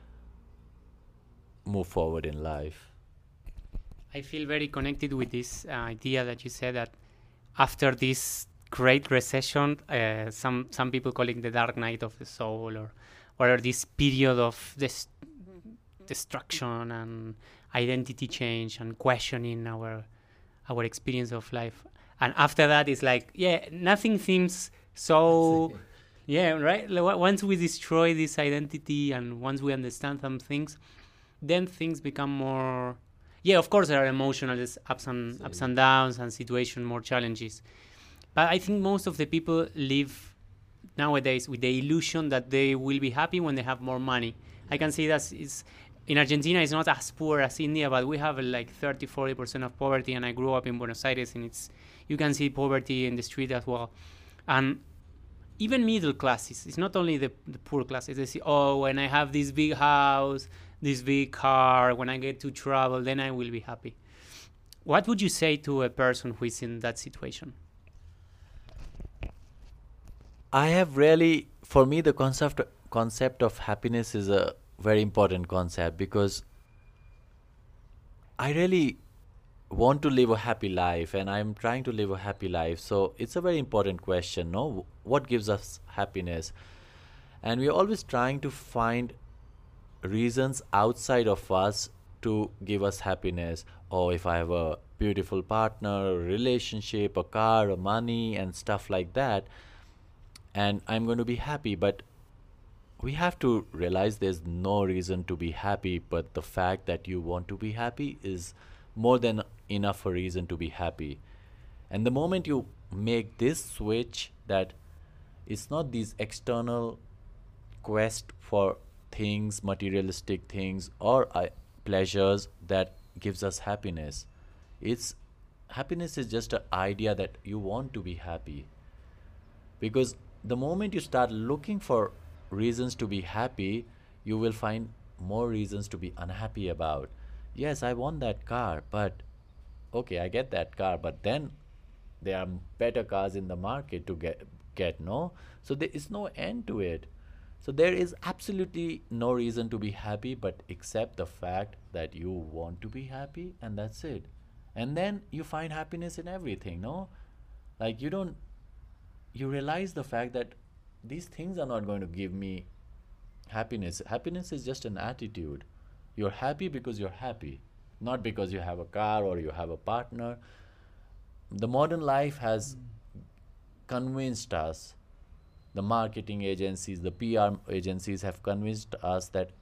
move forward in life. I feel very connected with this uh, idea that you said that after this great recession, uh, some some people call it the dark night of the soul, or or this period of this destruction and identity change and questioning our our experience of life. And after that, it's like, yeah, nothing seems so. Yeah, right. Like, wa- once we destroy this identity and once we understand some things, then things become more. Yeah, of course there are emotional just ups and ups and downs and situation more challenges, but I think most of the people live nowadays with the illusion that they will be happy when they have more money. I can see that it's in Argentina it's not as poor as India, but we have uh, like thirty forty percent of poverty, and I grew up in Buenos Aires, and it's you can see poverty in the street as well. And even middle classes, it's not only the, the poor classes, they say, oh, when I have this big house, this big car, when I get to travel, then I will be happy. What would you say to a person who is in that situation? I have really, for me, the concept concept of happiness is a very important concept, because I really want to live a happy life, and I'm trying to live a happy life. So it's a very important question, no? What gives us happiness? And we're always trying to find reasons outside of us to give us happiness. Oh, if I have a beautiful partner, a relationship, a car, a money, and stuff like that, and I'm going to be happy. But we have to realize there's no reason to be happy, but the fact that you want to be happy is more than enough a reason to be happy. And the moment you make this switch, that it's not these external quest for things, materialistic things, or uh, pleasures that gives us happiness. It's happiness is just an idea that you want to be happy. Because the moment you start looking for reasons to be happy, you will find more reasons to be unhappy about. Yes, I want that car, but okay, I get that car, but then there are better cars in the market to get get no, so there is no end to it. So there is absolutely no reason to be happy, but accept the fact that you want to be happy, and that's it. And then you find happiness in everything, no? Like you don't you realize the fact that these things are not going to give me happiness. Happiness is just an attitude. You're happy because you're happy, not because you have a car or you have a partner. The modern life has convinced us, the marketing agencies, the P R agencies have convinced us that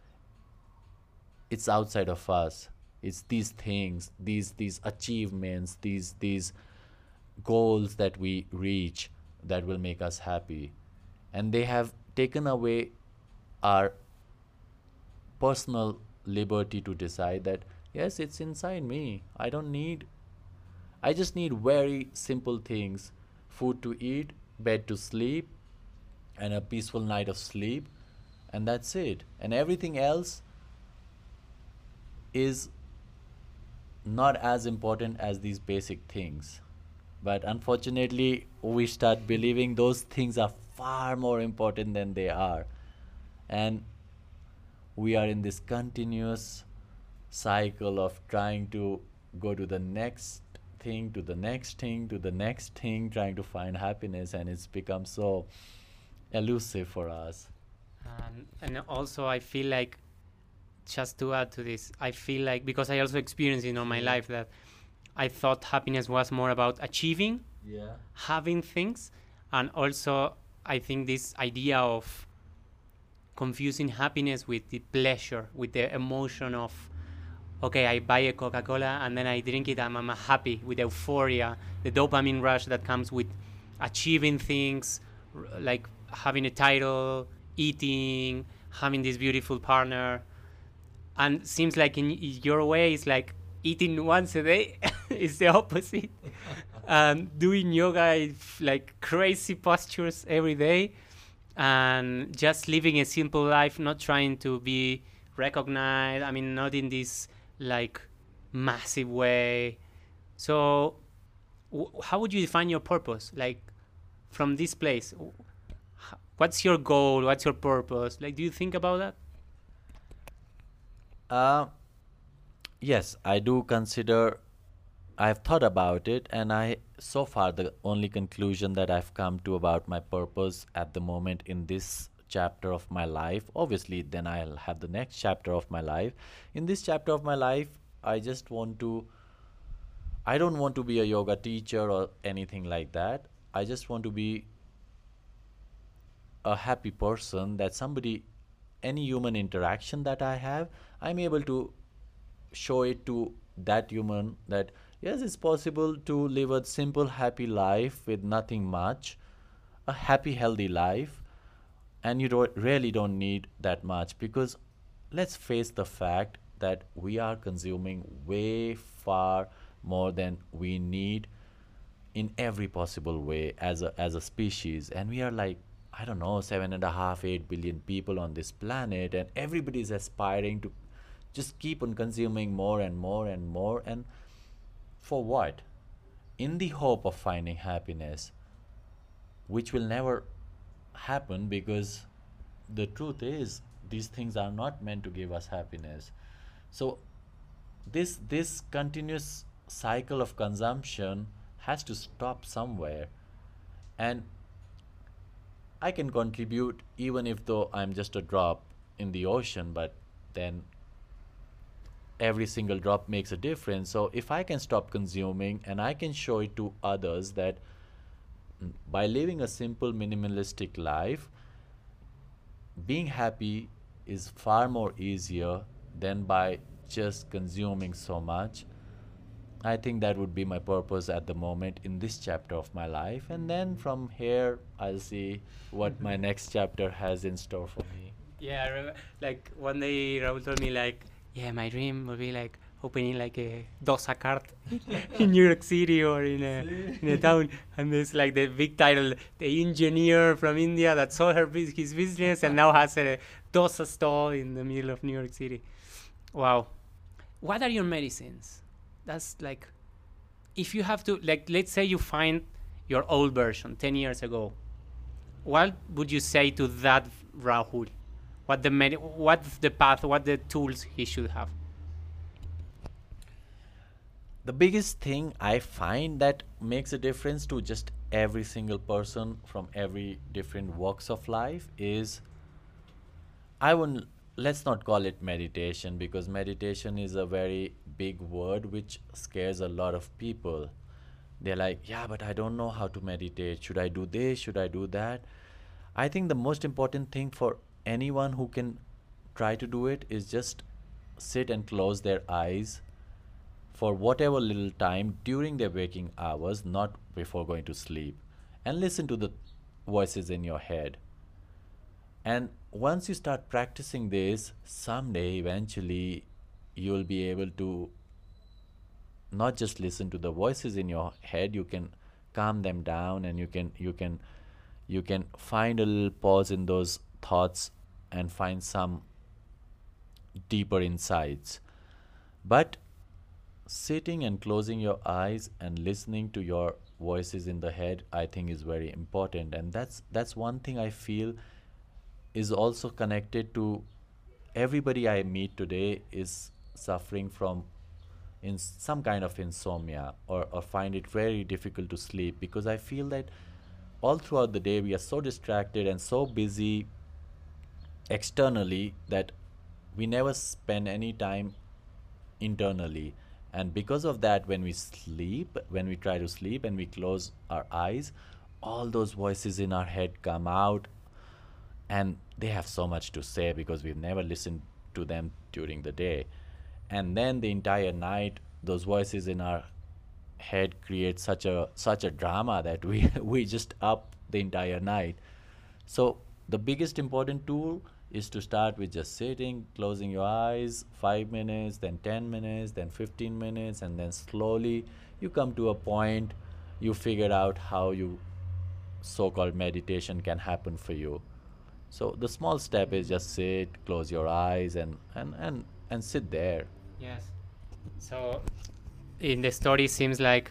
it's outside of us. It's these things, these these achievements, these these goals that we reach that will make us happy. And they have taken away our personal liberty to decide that yes, it's inside me. I don't need I just need very simple things: food to eat, bed to sleep, and a peaceful night of sleep, and that's it. And everything else is not as important as these basic things. But unfortunately, we start believing those things are far more important than they are. And we are in this continuous cycle of trying to go to the next thing, to the next thing, to the next thing, trying to find happiness, and it's become so elusive for us. Um, and also, I feel like, just to add to this, I feel like, because I also experienced in all my Yeah. life that I thought happiness was more about achieving, Yeah. having things, and also I think this idea of confusing happiness with the pleasure, with the emotion of, okay, I buy a Coca-Cola and then I drink it and I'm happy, with euphoria, the dopamine rush that comes with achieving things, r- like having a title, eating, having this beautiful partner. And seems like in y- your way, it's like eating once a day is the opposite. Um, doing yoga, if, like crazy postures every day, and just living a simple life, not trying to be recognized. I mean, not in this like massive way. So, w- how would you define your purpose? Like from this place, w- h- what's your goal? What's your purpose? Like, do you think about that? Uh, yes, I do consider, I've thought about it, and I, so far, the only conclusion that I've come to about my purpose at the moment in this chapter of my life, obviously, then I'll have the next chapter of my life. In this chapter of my life, I just want to, I don't want to be a yoga teacher or anything like that. I just want to be a happy person, that somebody, any human interaction that I have, I'm able to show it to that human that yes, it's possible to live a simple happy life with nothing much, a happy healthy life, and you don't really don't need that much, because let's face the fact that we are consuming way far more than we need in every possible way as a as a species. And we are like, I don't know, seven and a half eight billion people on this planet, and everybody is aspiring to just keep on consuming more and more and more. And for what? In the hope of finding happiness, which will never happen, because the truth is these things are not meant to give us happiness. So this this continuous cycle of consumption has to stop somewhere. And I can contribute even if though I'm just a drop in the ocean, but then every single drop makes a difference. So if I can stop consuming and I can show it to others that mm, by living a simple minimalistic life, being happy is far more easier than by just consuming so much. I think that would be my purpose at the moment in this chapter of my life. And then from here, I'll see what my next chapter has in store for me. Yeah, I remember, like one day Raul told me like, yeah, my dream would be like opening like a dosa cart in New York City or in a in a town, and there's like the big title, the engineer from India that sold her bus- his business and now has a dosa stall in the middle of New York City. Wow, what are your medicines? That's like, if you have to, like, let's say you find your old version ten years ago, what would you say to that Rahul? What the med- what's the path? What the tools he should have? The biggest thing I find that makes a difference to just every single person from every different walks of life is, I wouldn't, let's not call it meditation, because meditation is a very big word which scares a lot of people. They're like, yeah, but I don't know how to meditate. Should I do this? Should I do that? I think the most important thing for anyone who can try to do it is just sit and close their eyes for whatever little time during their waking hours, not before going to sleep, and listen to the voices in your head. And once you start practicing this, someday eventually you'll be able to not just listen to the voices in your head, you can calm them down, and you can you can you can find a little pause in those thoughts and find some deeper insights. But sitting and closing your eyes and listening to your voices in the head, I think, is very important. And that's that's one thing I feel is also connected to everybody I meet today is suffering from in some kind of insomnia, or, or find it very difficult to sleep, because I feel that all throughout the day we are so distracted and so busy externally that we never spend any time internally. And because of that, when we sleep, when we try to sleep and we close our eyes, all those voices in our head come out, and they have so much to say because we've never listened to them during the day. And then the entire night, those voices in our head create such a such a drama that we we just up the entire night. So the biggest important tool is to start with just sitting, closing your eyes, five minutes, then ten minutes, then fifteen minutes, and then slowly you come to a point, you figure out how you so-called meditation can happen for you. So the small step is just sit, close your eyes, and and and, and sit there. Yes. So in the story, seems like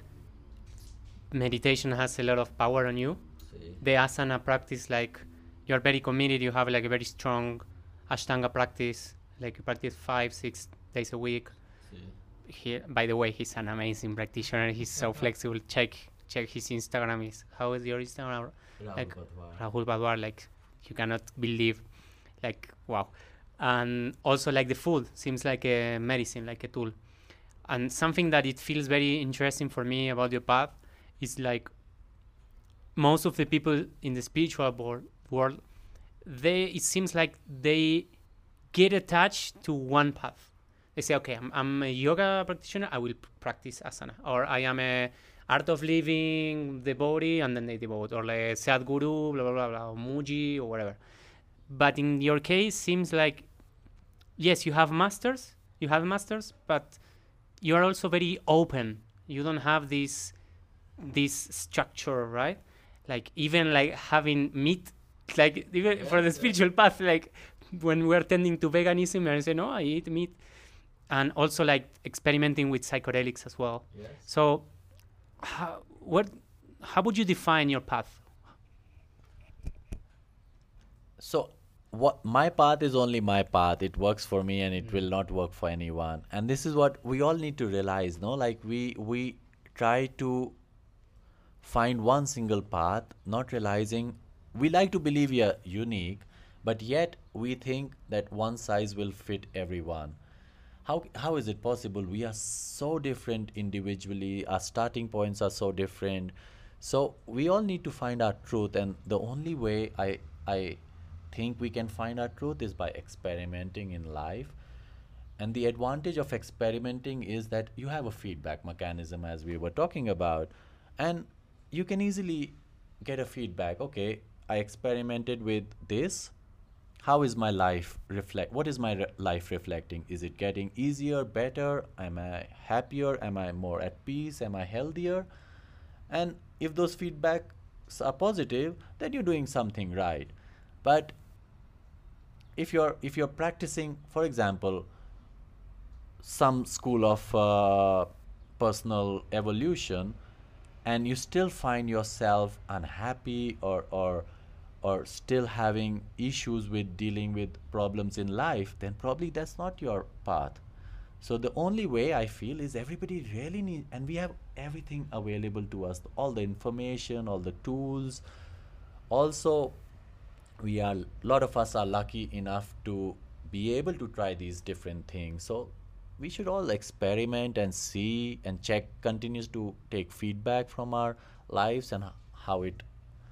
meditation has a lot of power on you. See. The asana practice, like you're very committed, you have like a very strong Ashtanga practice, like you practice five, six days a week. See. He, by the way, he's an amazing practitioner. He's so flexible. Check check his Instagram. Is how is your Instagram? Rahul Like Badwar. Rahul Badwar. Like you cannot believe, like wow. And also like the food seems like a medicine, like a tool. And something that it feels very interesting for me about your path is like most of the people in the spiritual board, world, they it seems like they get attached to one path. They say, okay, I'm, I'm a yoga practitioner, I will p- practice asana, or I am a art of living the body, and then they devote, or like Sadhguru, blah blah blah, blah or Muji or whatever. But in your case, seems like yes, you have masters, you have masters, but you are also very open. You don't have this this structure, right? Like even like having meat, like even Yeah, for the yeah. spiritual path, like when we're tending to veganism, and I say no, I eat meat, and also like experimenting with psychedelics as well. Yes. So, how, what, how would you define your path? So what my path is only my path. It works for me, and it Mm. will not work for anyone. And this is what we all need to realize, no? Like we we try to find one single path, not realizing we like to believe we are unique, but yet we think that one size will fit everyone. How how is it possible? We are so different individually. Our starting points are so different. So we all need to find our truth, and the only way I I think we can find our truth is by experimenting in life. And the advantage of experimenting is that you have a feedback mechanism, as we were talking about, and you can easily get a feedback. Okay, I experimented with this. How is my life reflect? What is my re- life reflecting? Is it getting easier, better? Am I happier? Am I more at peace? Am I healthier? And if those feedbacks are positive, then you're doing something right. But if you're if you're practicing, for example, some school of uh, personal evolution, and you still find yourself unhappy, or or or still having issues with dealing with problems in life, then probably that's not your path. So the only way I feel is everybody really need, and we have everything available to us, all the information, all the tools. Also, we are a lot of us are lucky enough to be able to try these different things. So we should all experiment and see and check, continues to take feedback from our lives and h- how it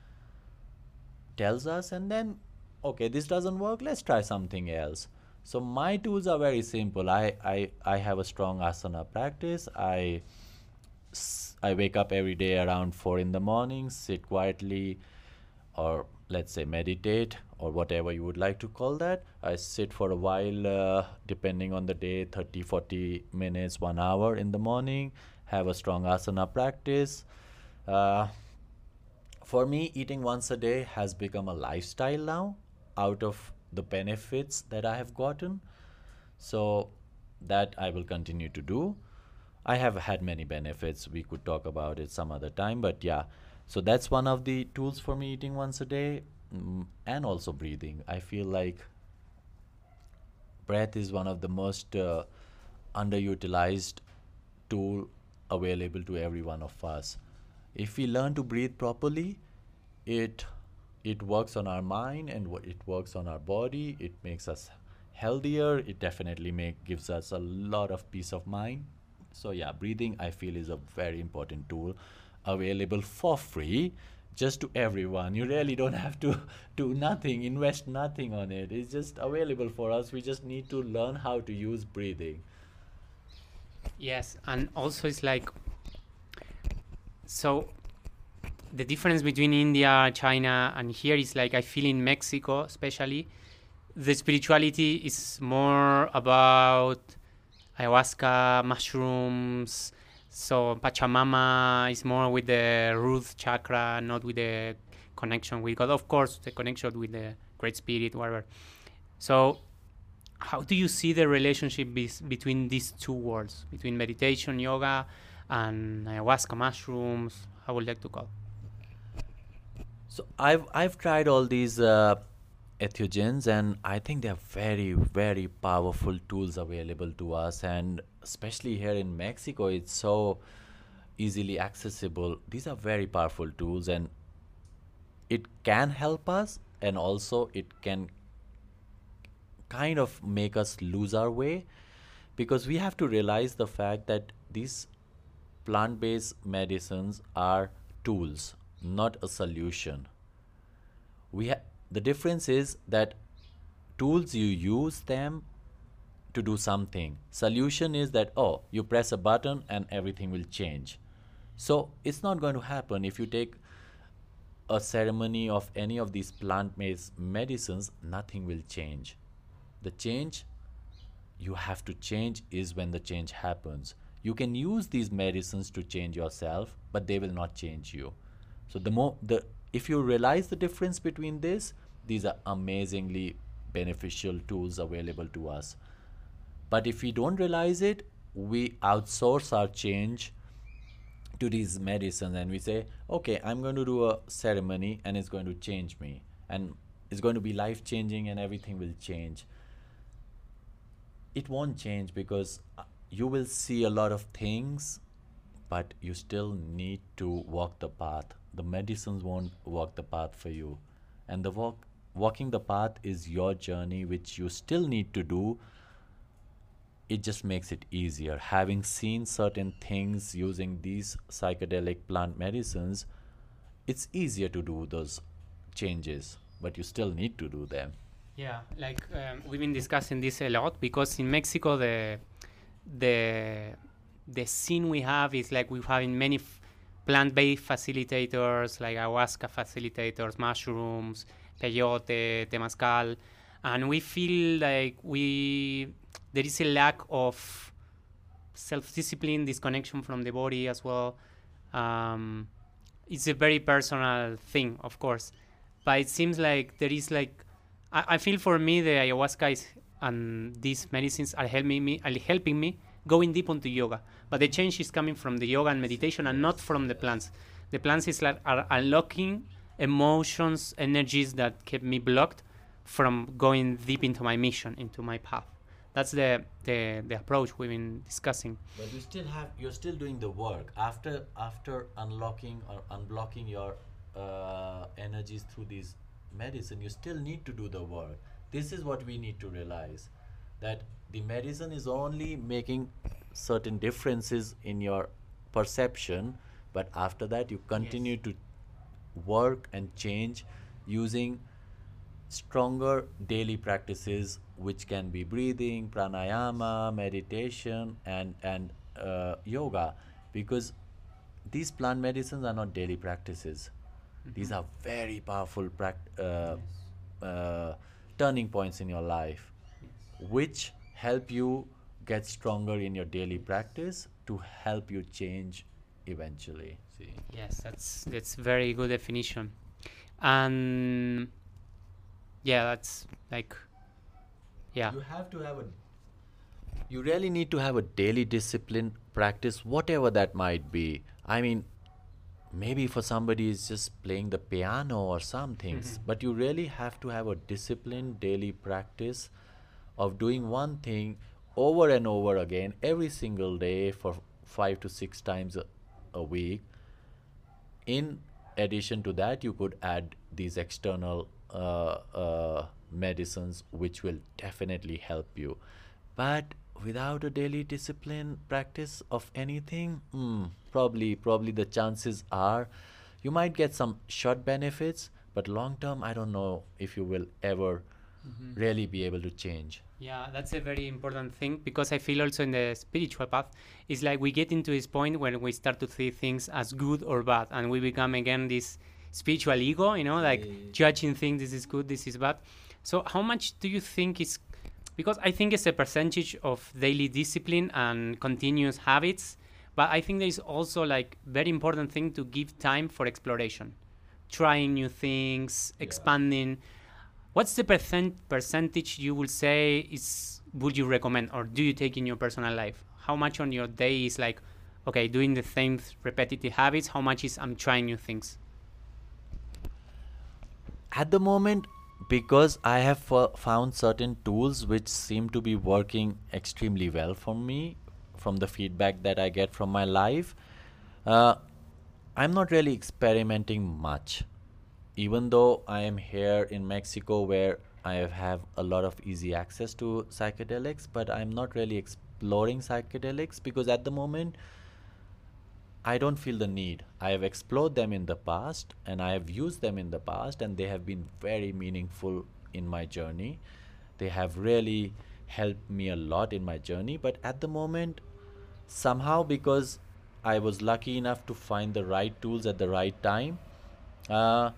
tells us, and then okay, this doesn't work, let's try something else. So my tools are very simple. I I, I have a strong asana practice. I s- I wake up every day around four in the morning, sit quietly, or let's say meditate, or whatever you would like to call that. I sit for a while, uh, depending on the day, thirty, forty minutes, one hour in the morning, have a strong asana practice. Uh, for me, eating once a day has become a lifestyle now, out of the benefits that I have gotten. So that I will continue to do. I have had many benefits. We could talk about it some other time, but yeah. So that's one of the tools for me, eating once a day, mm, and also breathing. I feel like breath is one of the most uh, underutilized tool available to every one of us. If we learn to breathe properly, it it works on our mind and wo- it works on our body. It makes us healthier. It definitely make gives us a lot of peace of mind. So yeah, breathing I feel is a very important tool available for free just to everyone. You really don't have to do nothing, invest nothing on it. It's just available for us. We just need to learn how to use breathing. Yes, and also it's like, so the difference between India, China, and here is like I feel in Mexico, especially, the spirituality is more about ayahuasca, mushrooms. So Pachamama is more with the root chakra, not with the connection with God. Of course, the connection with the Great Spirit, whatever. So, how do you see the relationship bes- between these two worlds, between meditation, yoga, and ayahuasca, mushrooms? I would like to call. So I've I've tried all these uh, entheogens, and I think they're very very powerful tools available to us, and especially here in Mexico, it's so easily accessible. These are very powerful tools, and it can help us, and also it can kind of make us lose our way, because we have to realize the fact that these plant-based medicines are tools, not a solution. We ha- the difference is that tools, you use them to do something. Solution is that, oh, you press a button and everything will change. So it's not going to happen. If you take a ceremony of any of these plant-based medicines, nothing will change. The change you have to change is when the change happens. You can use these medicines to change yourself, but they will not change you. So the more the if you realize the difference between this, these are amazingly beneficial tools available to us. But if we don't realize it, we outsource our change to these medicines, and we say, okay, I'm going to do a ceremony and it's going to change me, and it's going to be life changing and everything will change. It won't change, because uh, you will see a lot of things, but you still need to walk the path. The medicines won't walk the path for you, and the walk walking the path is your journey, which you still need to do. It just makes it easier. Having seen certain things using these psychedelic plant medicines, it's easier to do those changes, but you still need to do them. Yeah, like um, we've been discussing this a lot because in Mexico the the the scene we have is like we're having many f- plant-based facilitators, like ayahuasca facilitators, mushrooms, peyote, temazcal, and we feel like we there is a lack of self-discipline, disconnection from the body as well. Um, it's a very personal thing, of course, but it seems like there is like I, I feel for me the ayahuasca is, and these medicines are helping me are helping me going deep into yoga. But the change is coming from the yoga and meditation and not from the plants. The plants is like are unlocking emotions, energies that kept me blocked from going deep into my mission, into my path. That's the, the, the approach we've been discussing. But you still have you're still doing the work after after unlocking or unblocking your uh, energies through these medicine. You still need to do the work. This is what we need to realize, that the medicine is only making certain differences in your perception, but after that you continue Yes. to work and change using stronger daily practices, which can be breathing, pranayama, meditation, and and uh, yoga, because these plant medicines are not daily practices. These are very powerful pract- uh, uh, turning points in your life, which help you get stronger in your daily practice to help you change eventually. See. Yes, that's that's very good definition. And yeah, that's like yeah. You have to have a you really need to have a daily discipline practice, whatever that might be. I mean, maybe for somebody it's just playing the piano or some things, but you really have to have a disciplined daily practice of doing one thing over and over again every single day for five to six times a, a week. In addition to that, you could add these external uh, uh, medicines, which will definitely help you. But without a daily discipline practice of anything, mm, probably probably the chances are you might get some short benefits, but long term, I don't know if you will ever Mhm. really be able to change. Yeah, that's a very important thing, because I feel also in the spiritual path, it's like we get into this point when we start to see things as good or bad, and we become again this spiritual ego, you know, like Yeah. judging things, this is good, this is bad. So how much do you think is, because I think it's a percentage of daily discipline and continuous habits, but I think there is also like very important thing to give time for exploration, trying new things, Yeah. expanding. What's the percent percentage you will say is would you recommend, or do you take in your personal life? How much on your day is like, okay, doing the same th- repetitive habits? How much is I'm trying new things? At the moment, because I have fo- found certain tools which seem to be working extremely well for me from the feedback that I get from my life, uh, I'm not really experimenting much. Even though I am here in Mexico where I have a lot of easy access to psychedelics, but I'm not really exploring psychedelics because at the moment I don't feel the need. I have explored them in the past and I have used them in the past, and they have been very meaningful in my journey. They have really helped me a lot in my journey, but at the moment, somehow because I was lucky enough to find the right tools at the right time, uh,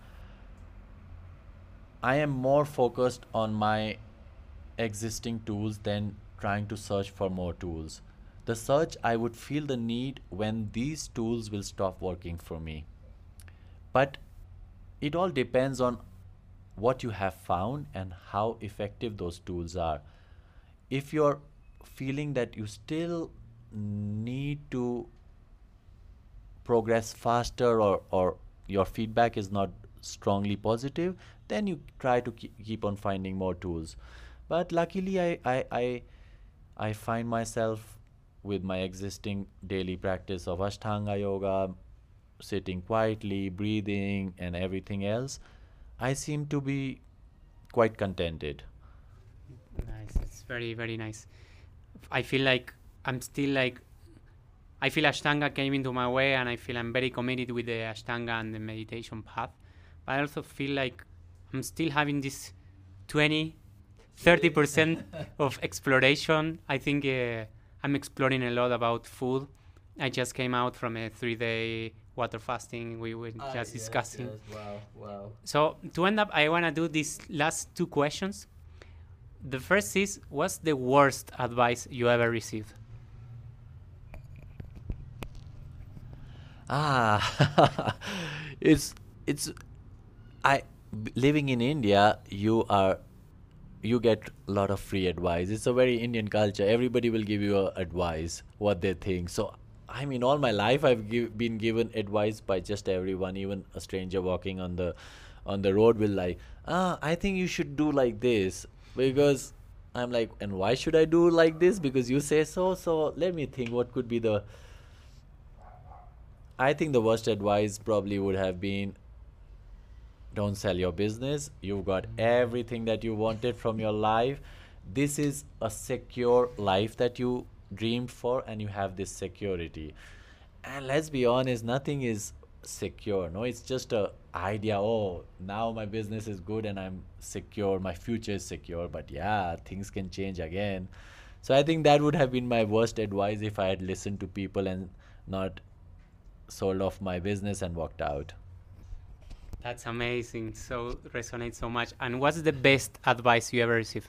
I am more focused on my existing tools than trying to search for more tools. The search, I would feel the need when these tools will stop working for me. But it all depends on what you have found and how effective those tools are. If you're feeling that you still need to progress faster, or, or your feedback is not strongly positive, then you try to ke- keep on finding more tools. But luckily, I, I, I, I find myself with my existing daily practice of Ashtanga yoga, sitting quietly, breathing, and everything else. I seem to be quite contented. Nice. It's very, very nice. I feel like I'm still like, I feel Ashtanga came into my way, and I feel I'm very committed with the Ashtanga and the meditation path. But I also feel like I'm still having this twenty, thirty percent of exploration. I think uh, I'm exploring a lot about food. I just came out from a three day water fasting we were Ah, just yes, discussing. yes, wow, wow. So to end up, I want to do these last two questions. The first is, what's the worst advice you ever received? Ah, it's it's I b- living in India. You are you get a lot of free advice. It's a very Indian culture. Everybody will give you a advice what they think. So I mean, all my life I've give, been given advice by just everyone. Even a stranger walking on the on the road will like, ah, I think you should do like this, because I'm like, and why should I do like this? Because you say so. So let me think. What could be the I think the worst advice probably would have been, don't sell your business. You've got everything that you wanted from your life. This is a secure life that you dreamed for, and you have this security. And let's be honest, nothing is secure. No, it's just a idea. Oh, now my business is good and I'm secure. My future is secure. But yeah, things can change again. So I think that would have been my worst advice if I had listened to people and not sold off my business and walked out. That's amazing. So resonates so much. And what's the best advice you ever received?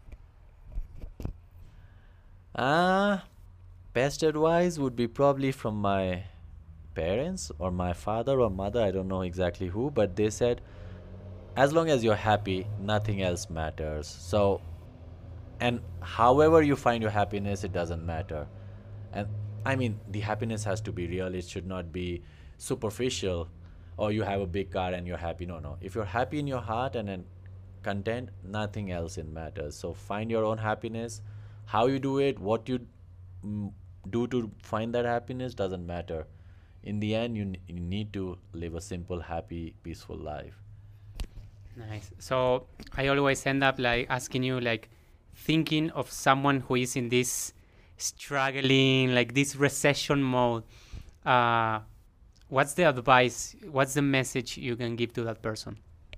Ah, uh, best advice would be probably from my parents or my father or mother. I don't know exactly who, but they said, as long as you're happy, nothing else matters. So, and however you find your happiness, it doesn't matter. And I mean, the happiness has to be real. It should not be superficial, or you have a big car and you're happy. No, no. If you're happy in your heart and then content, nothing else in matters. So find your own happiness. How you do it, what you mm, do to find that happiness doesn't matter. In the end, you, n- you need to live a simple, happy, peaceful life. Nice. So I always end up like asking you, like, thinking of someone who is in this struggling, like this recession mode. Uh, what's the advice? What's the message you can give to that person?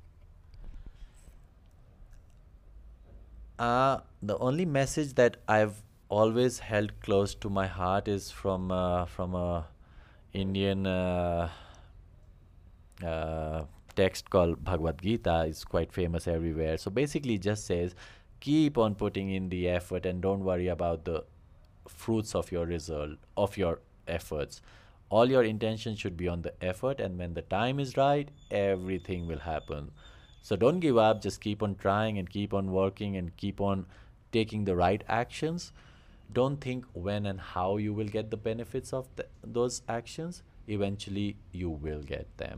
Uh, the only message that I've always held close to my heart is from uh, from a Indian uh, uh, text called Bhagavad Gita. It's quite famous everywhere. So basically, it just says, keep on putting in the effort and don't worry about the fruits of your result of your efforts. All your intention should be on the effort, and when the time is right, everything will happen. So don't give up, just keep on trying and keep on working and keep on taking the right actions. Don't think when and how you will get the benefits of the, those actions. Eventually, you will get them.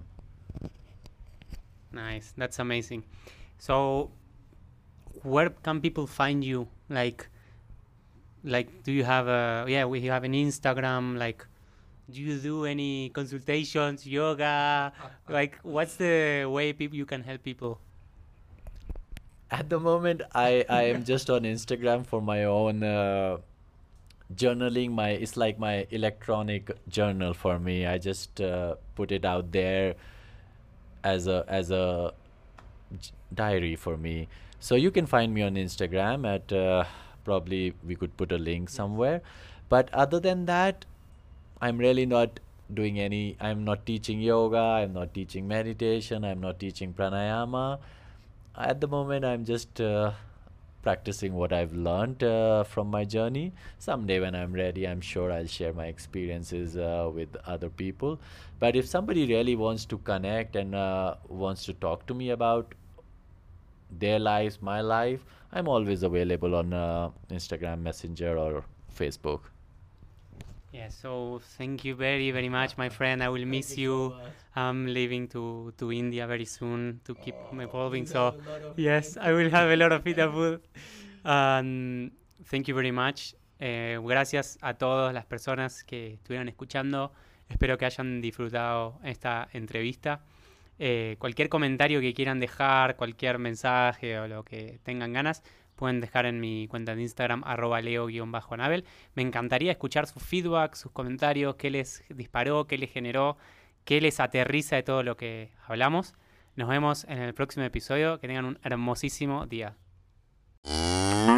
Nice. That's amazing. So where can people find you? Like, like, do you have a, yeah, we have an Instagram, like, do you do any consultations, yoga? Like, what's the way people you can help people? At the moment, I, I am just on Instagram for my own uh, journaling. My It's like my electronic journal for me. I just uh, put it out there as a as a j- diary for me. So you can find me on Instagram at uh, probably we could put a link somewhere. But other than that, I'm really not doing any, I'm not teaching yoga, I'm not teaching meditation, I'm not teaching pranayama. At the moment, I'm just uh, practicing what I've learned uh, from my journey. Someday, when I'm ready, I'm sure I'll share my experiences uh, with other people. But if somebody really wants to connect and uh, wants to talk to me about their lives, my life, I'm always available on uh, Instagram Messenger or Facebook. Yeah, so thank you very, very much, my friend. I will miss you. I'm leaving to, to India very soon to keep evolving. So, yes, I will have a lot of Fita food. Um, thank you very much. Eh, gracias a todas las personas que estuvieron escuchando. Espero que hayan disfrutado esta entrevista. Eh, cualquier comentario que quieran dejar, cualquier mensaje o lo que tengan ganas, pueden dejar en mi cuenta de Instagram, arroba leo-anabel. Me encantaría escuchar su feedback, sus comentarios, qué les disparó, qué les generó, qué les aterriza de todo lo que hablamos. Nos vemos en el próximo episodio. Que tengan un hermosísimo día.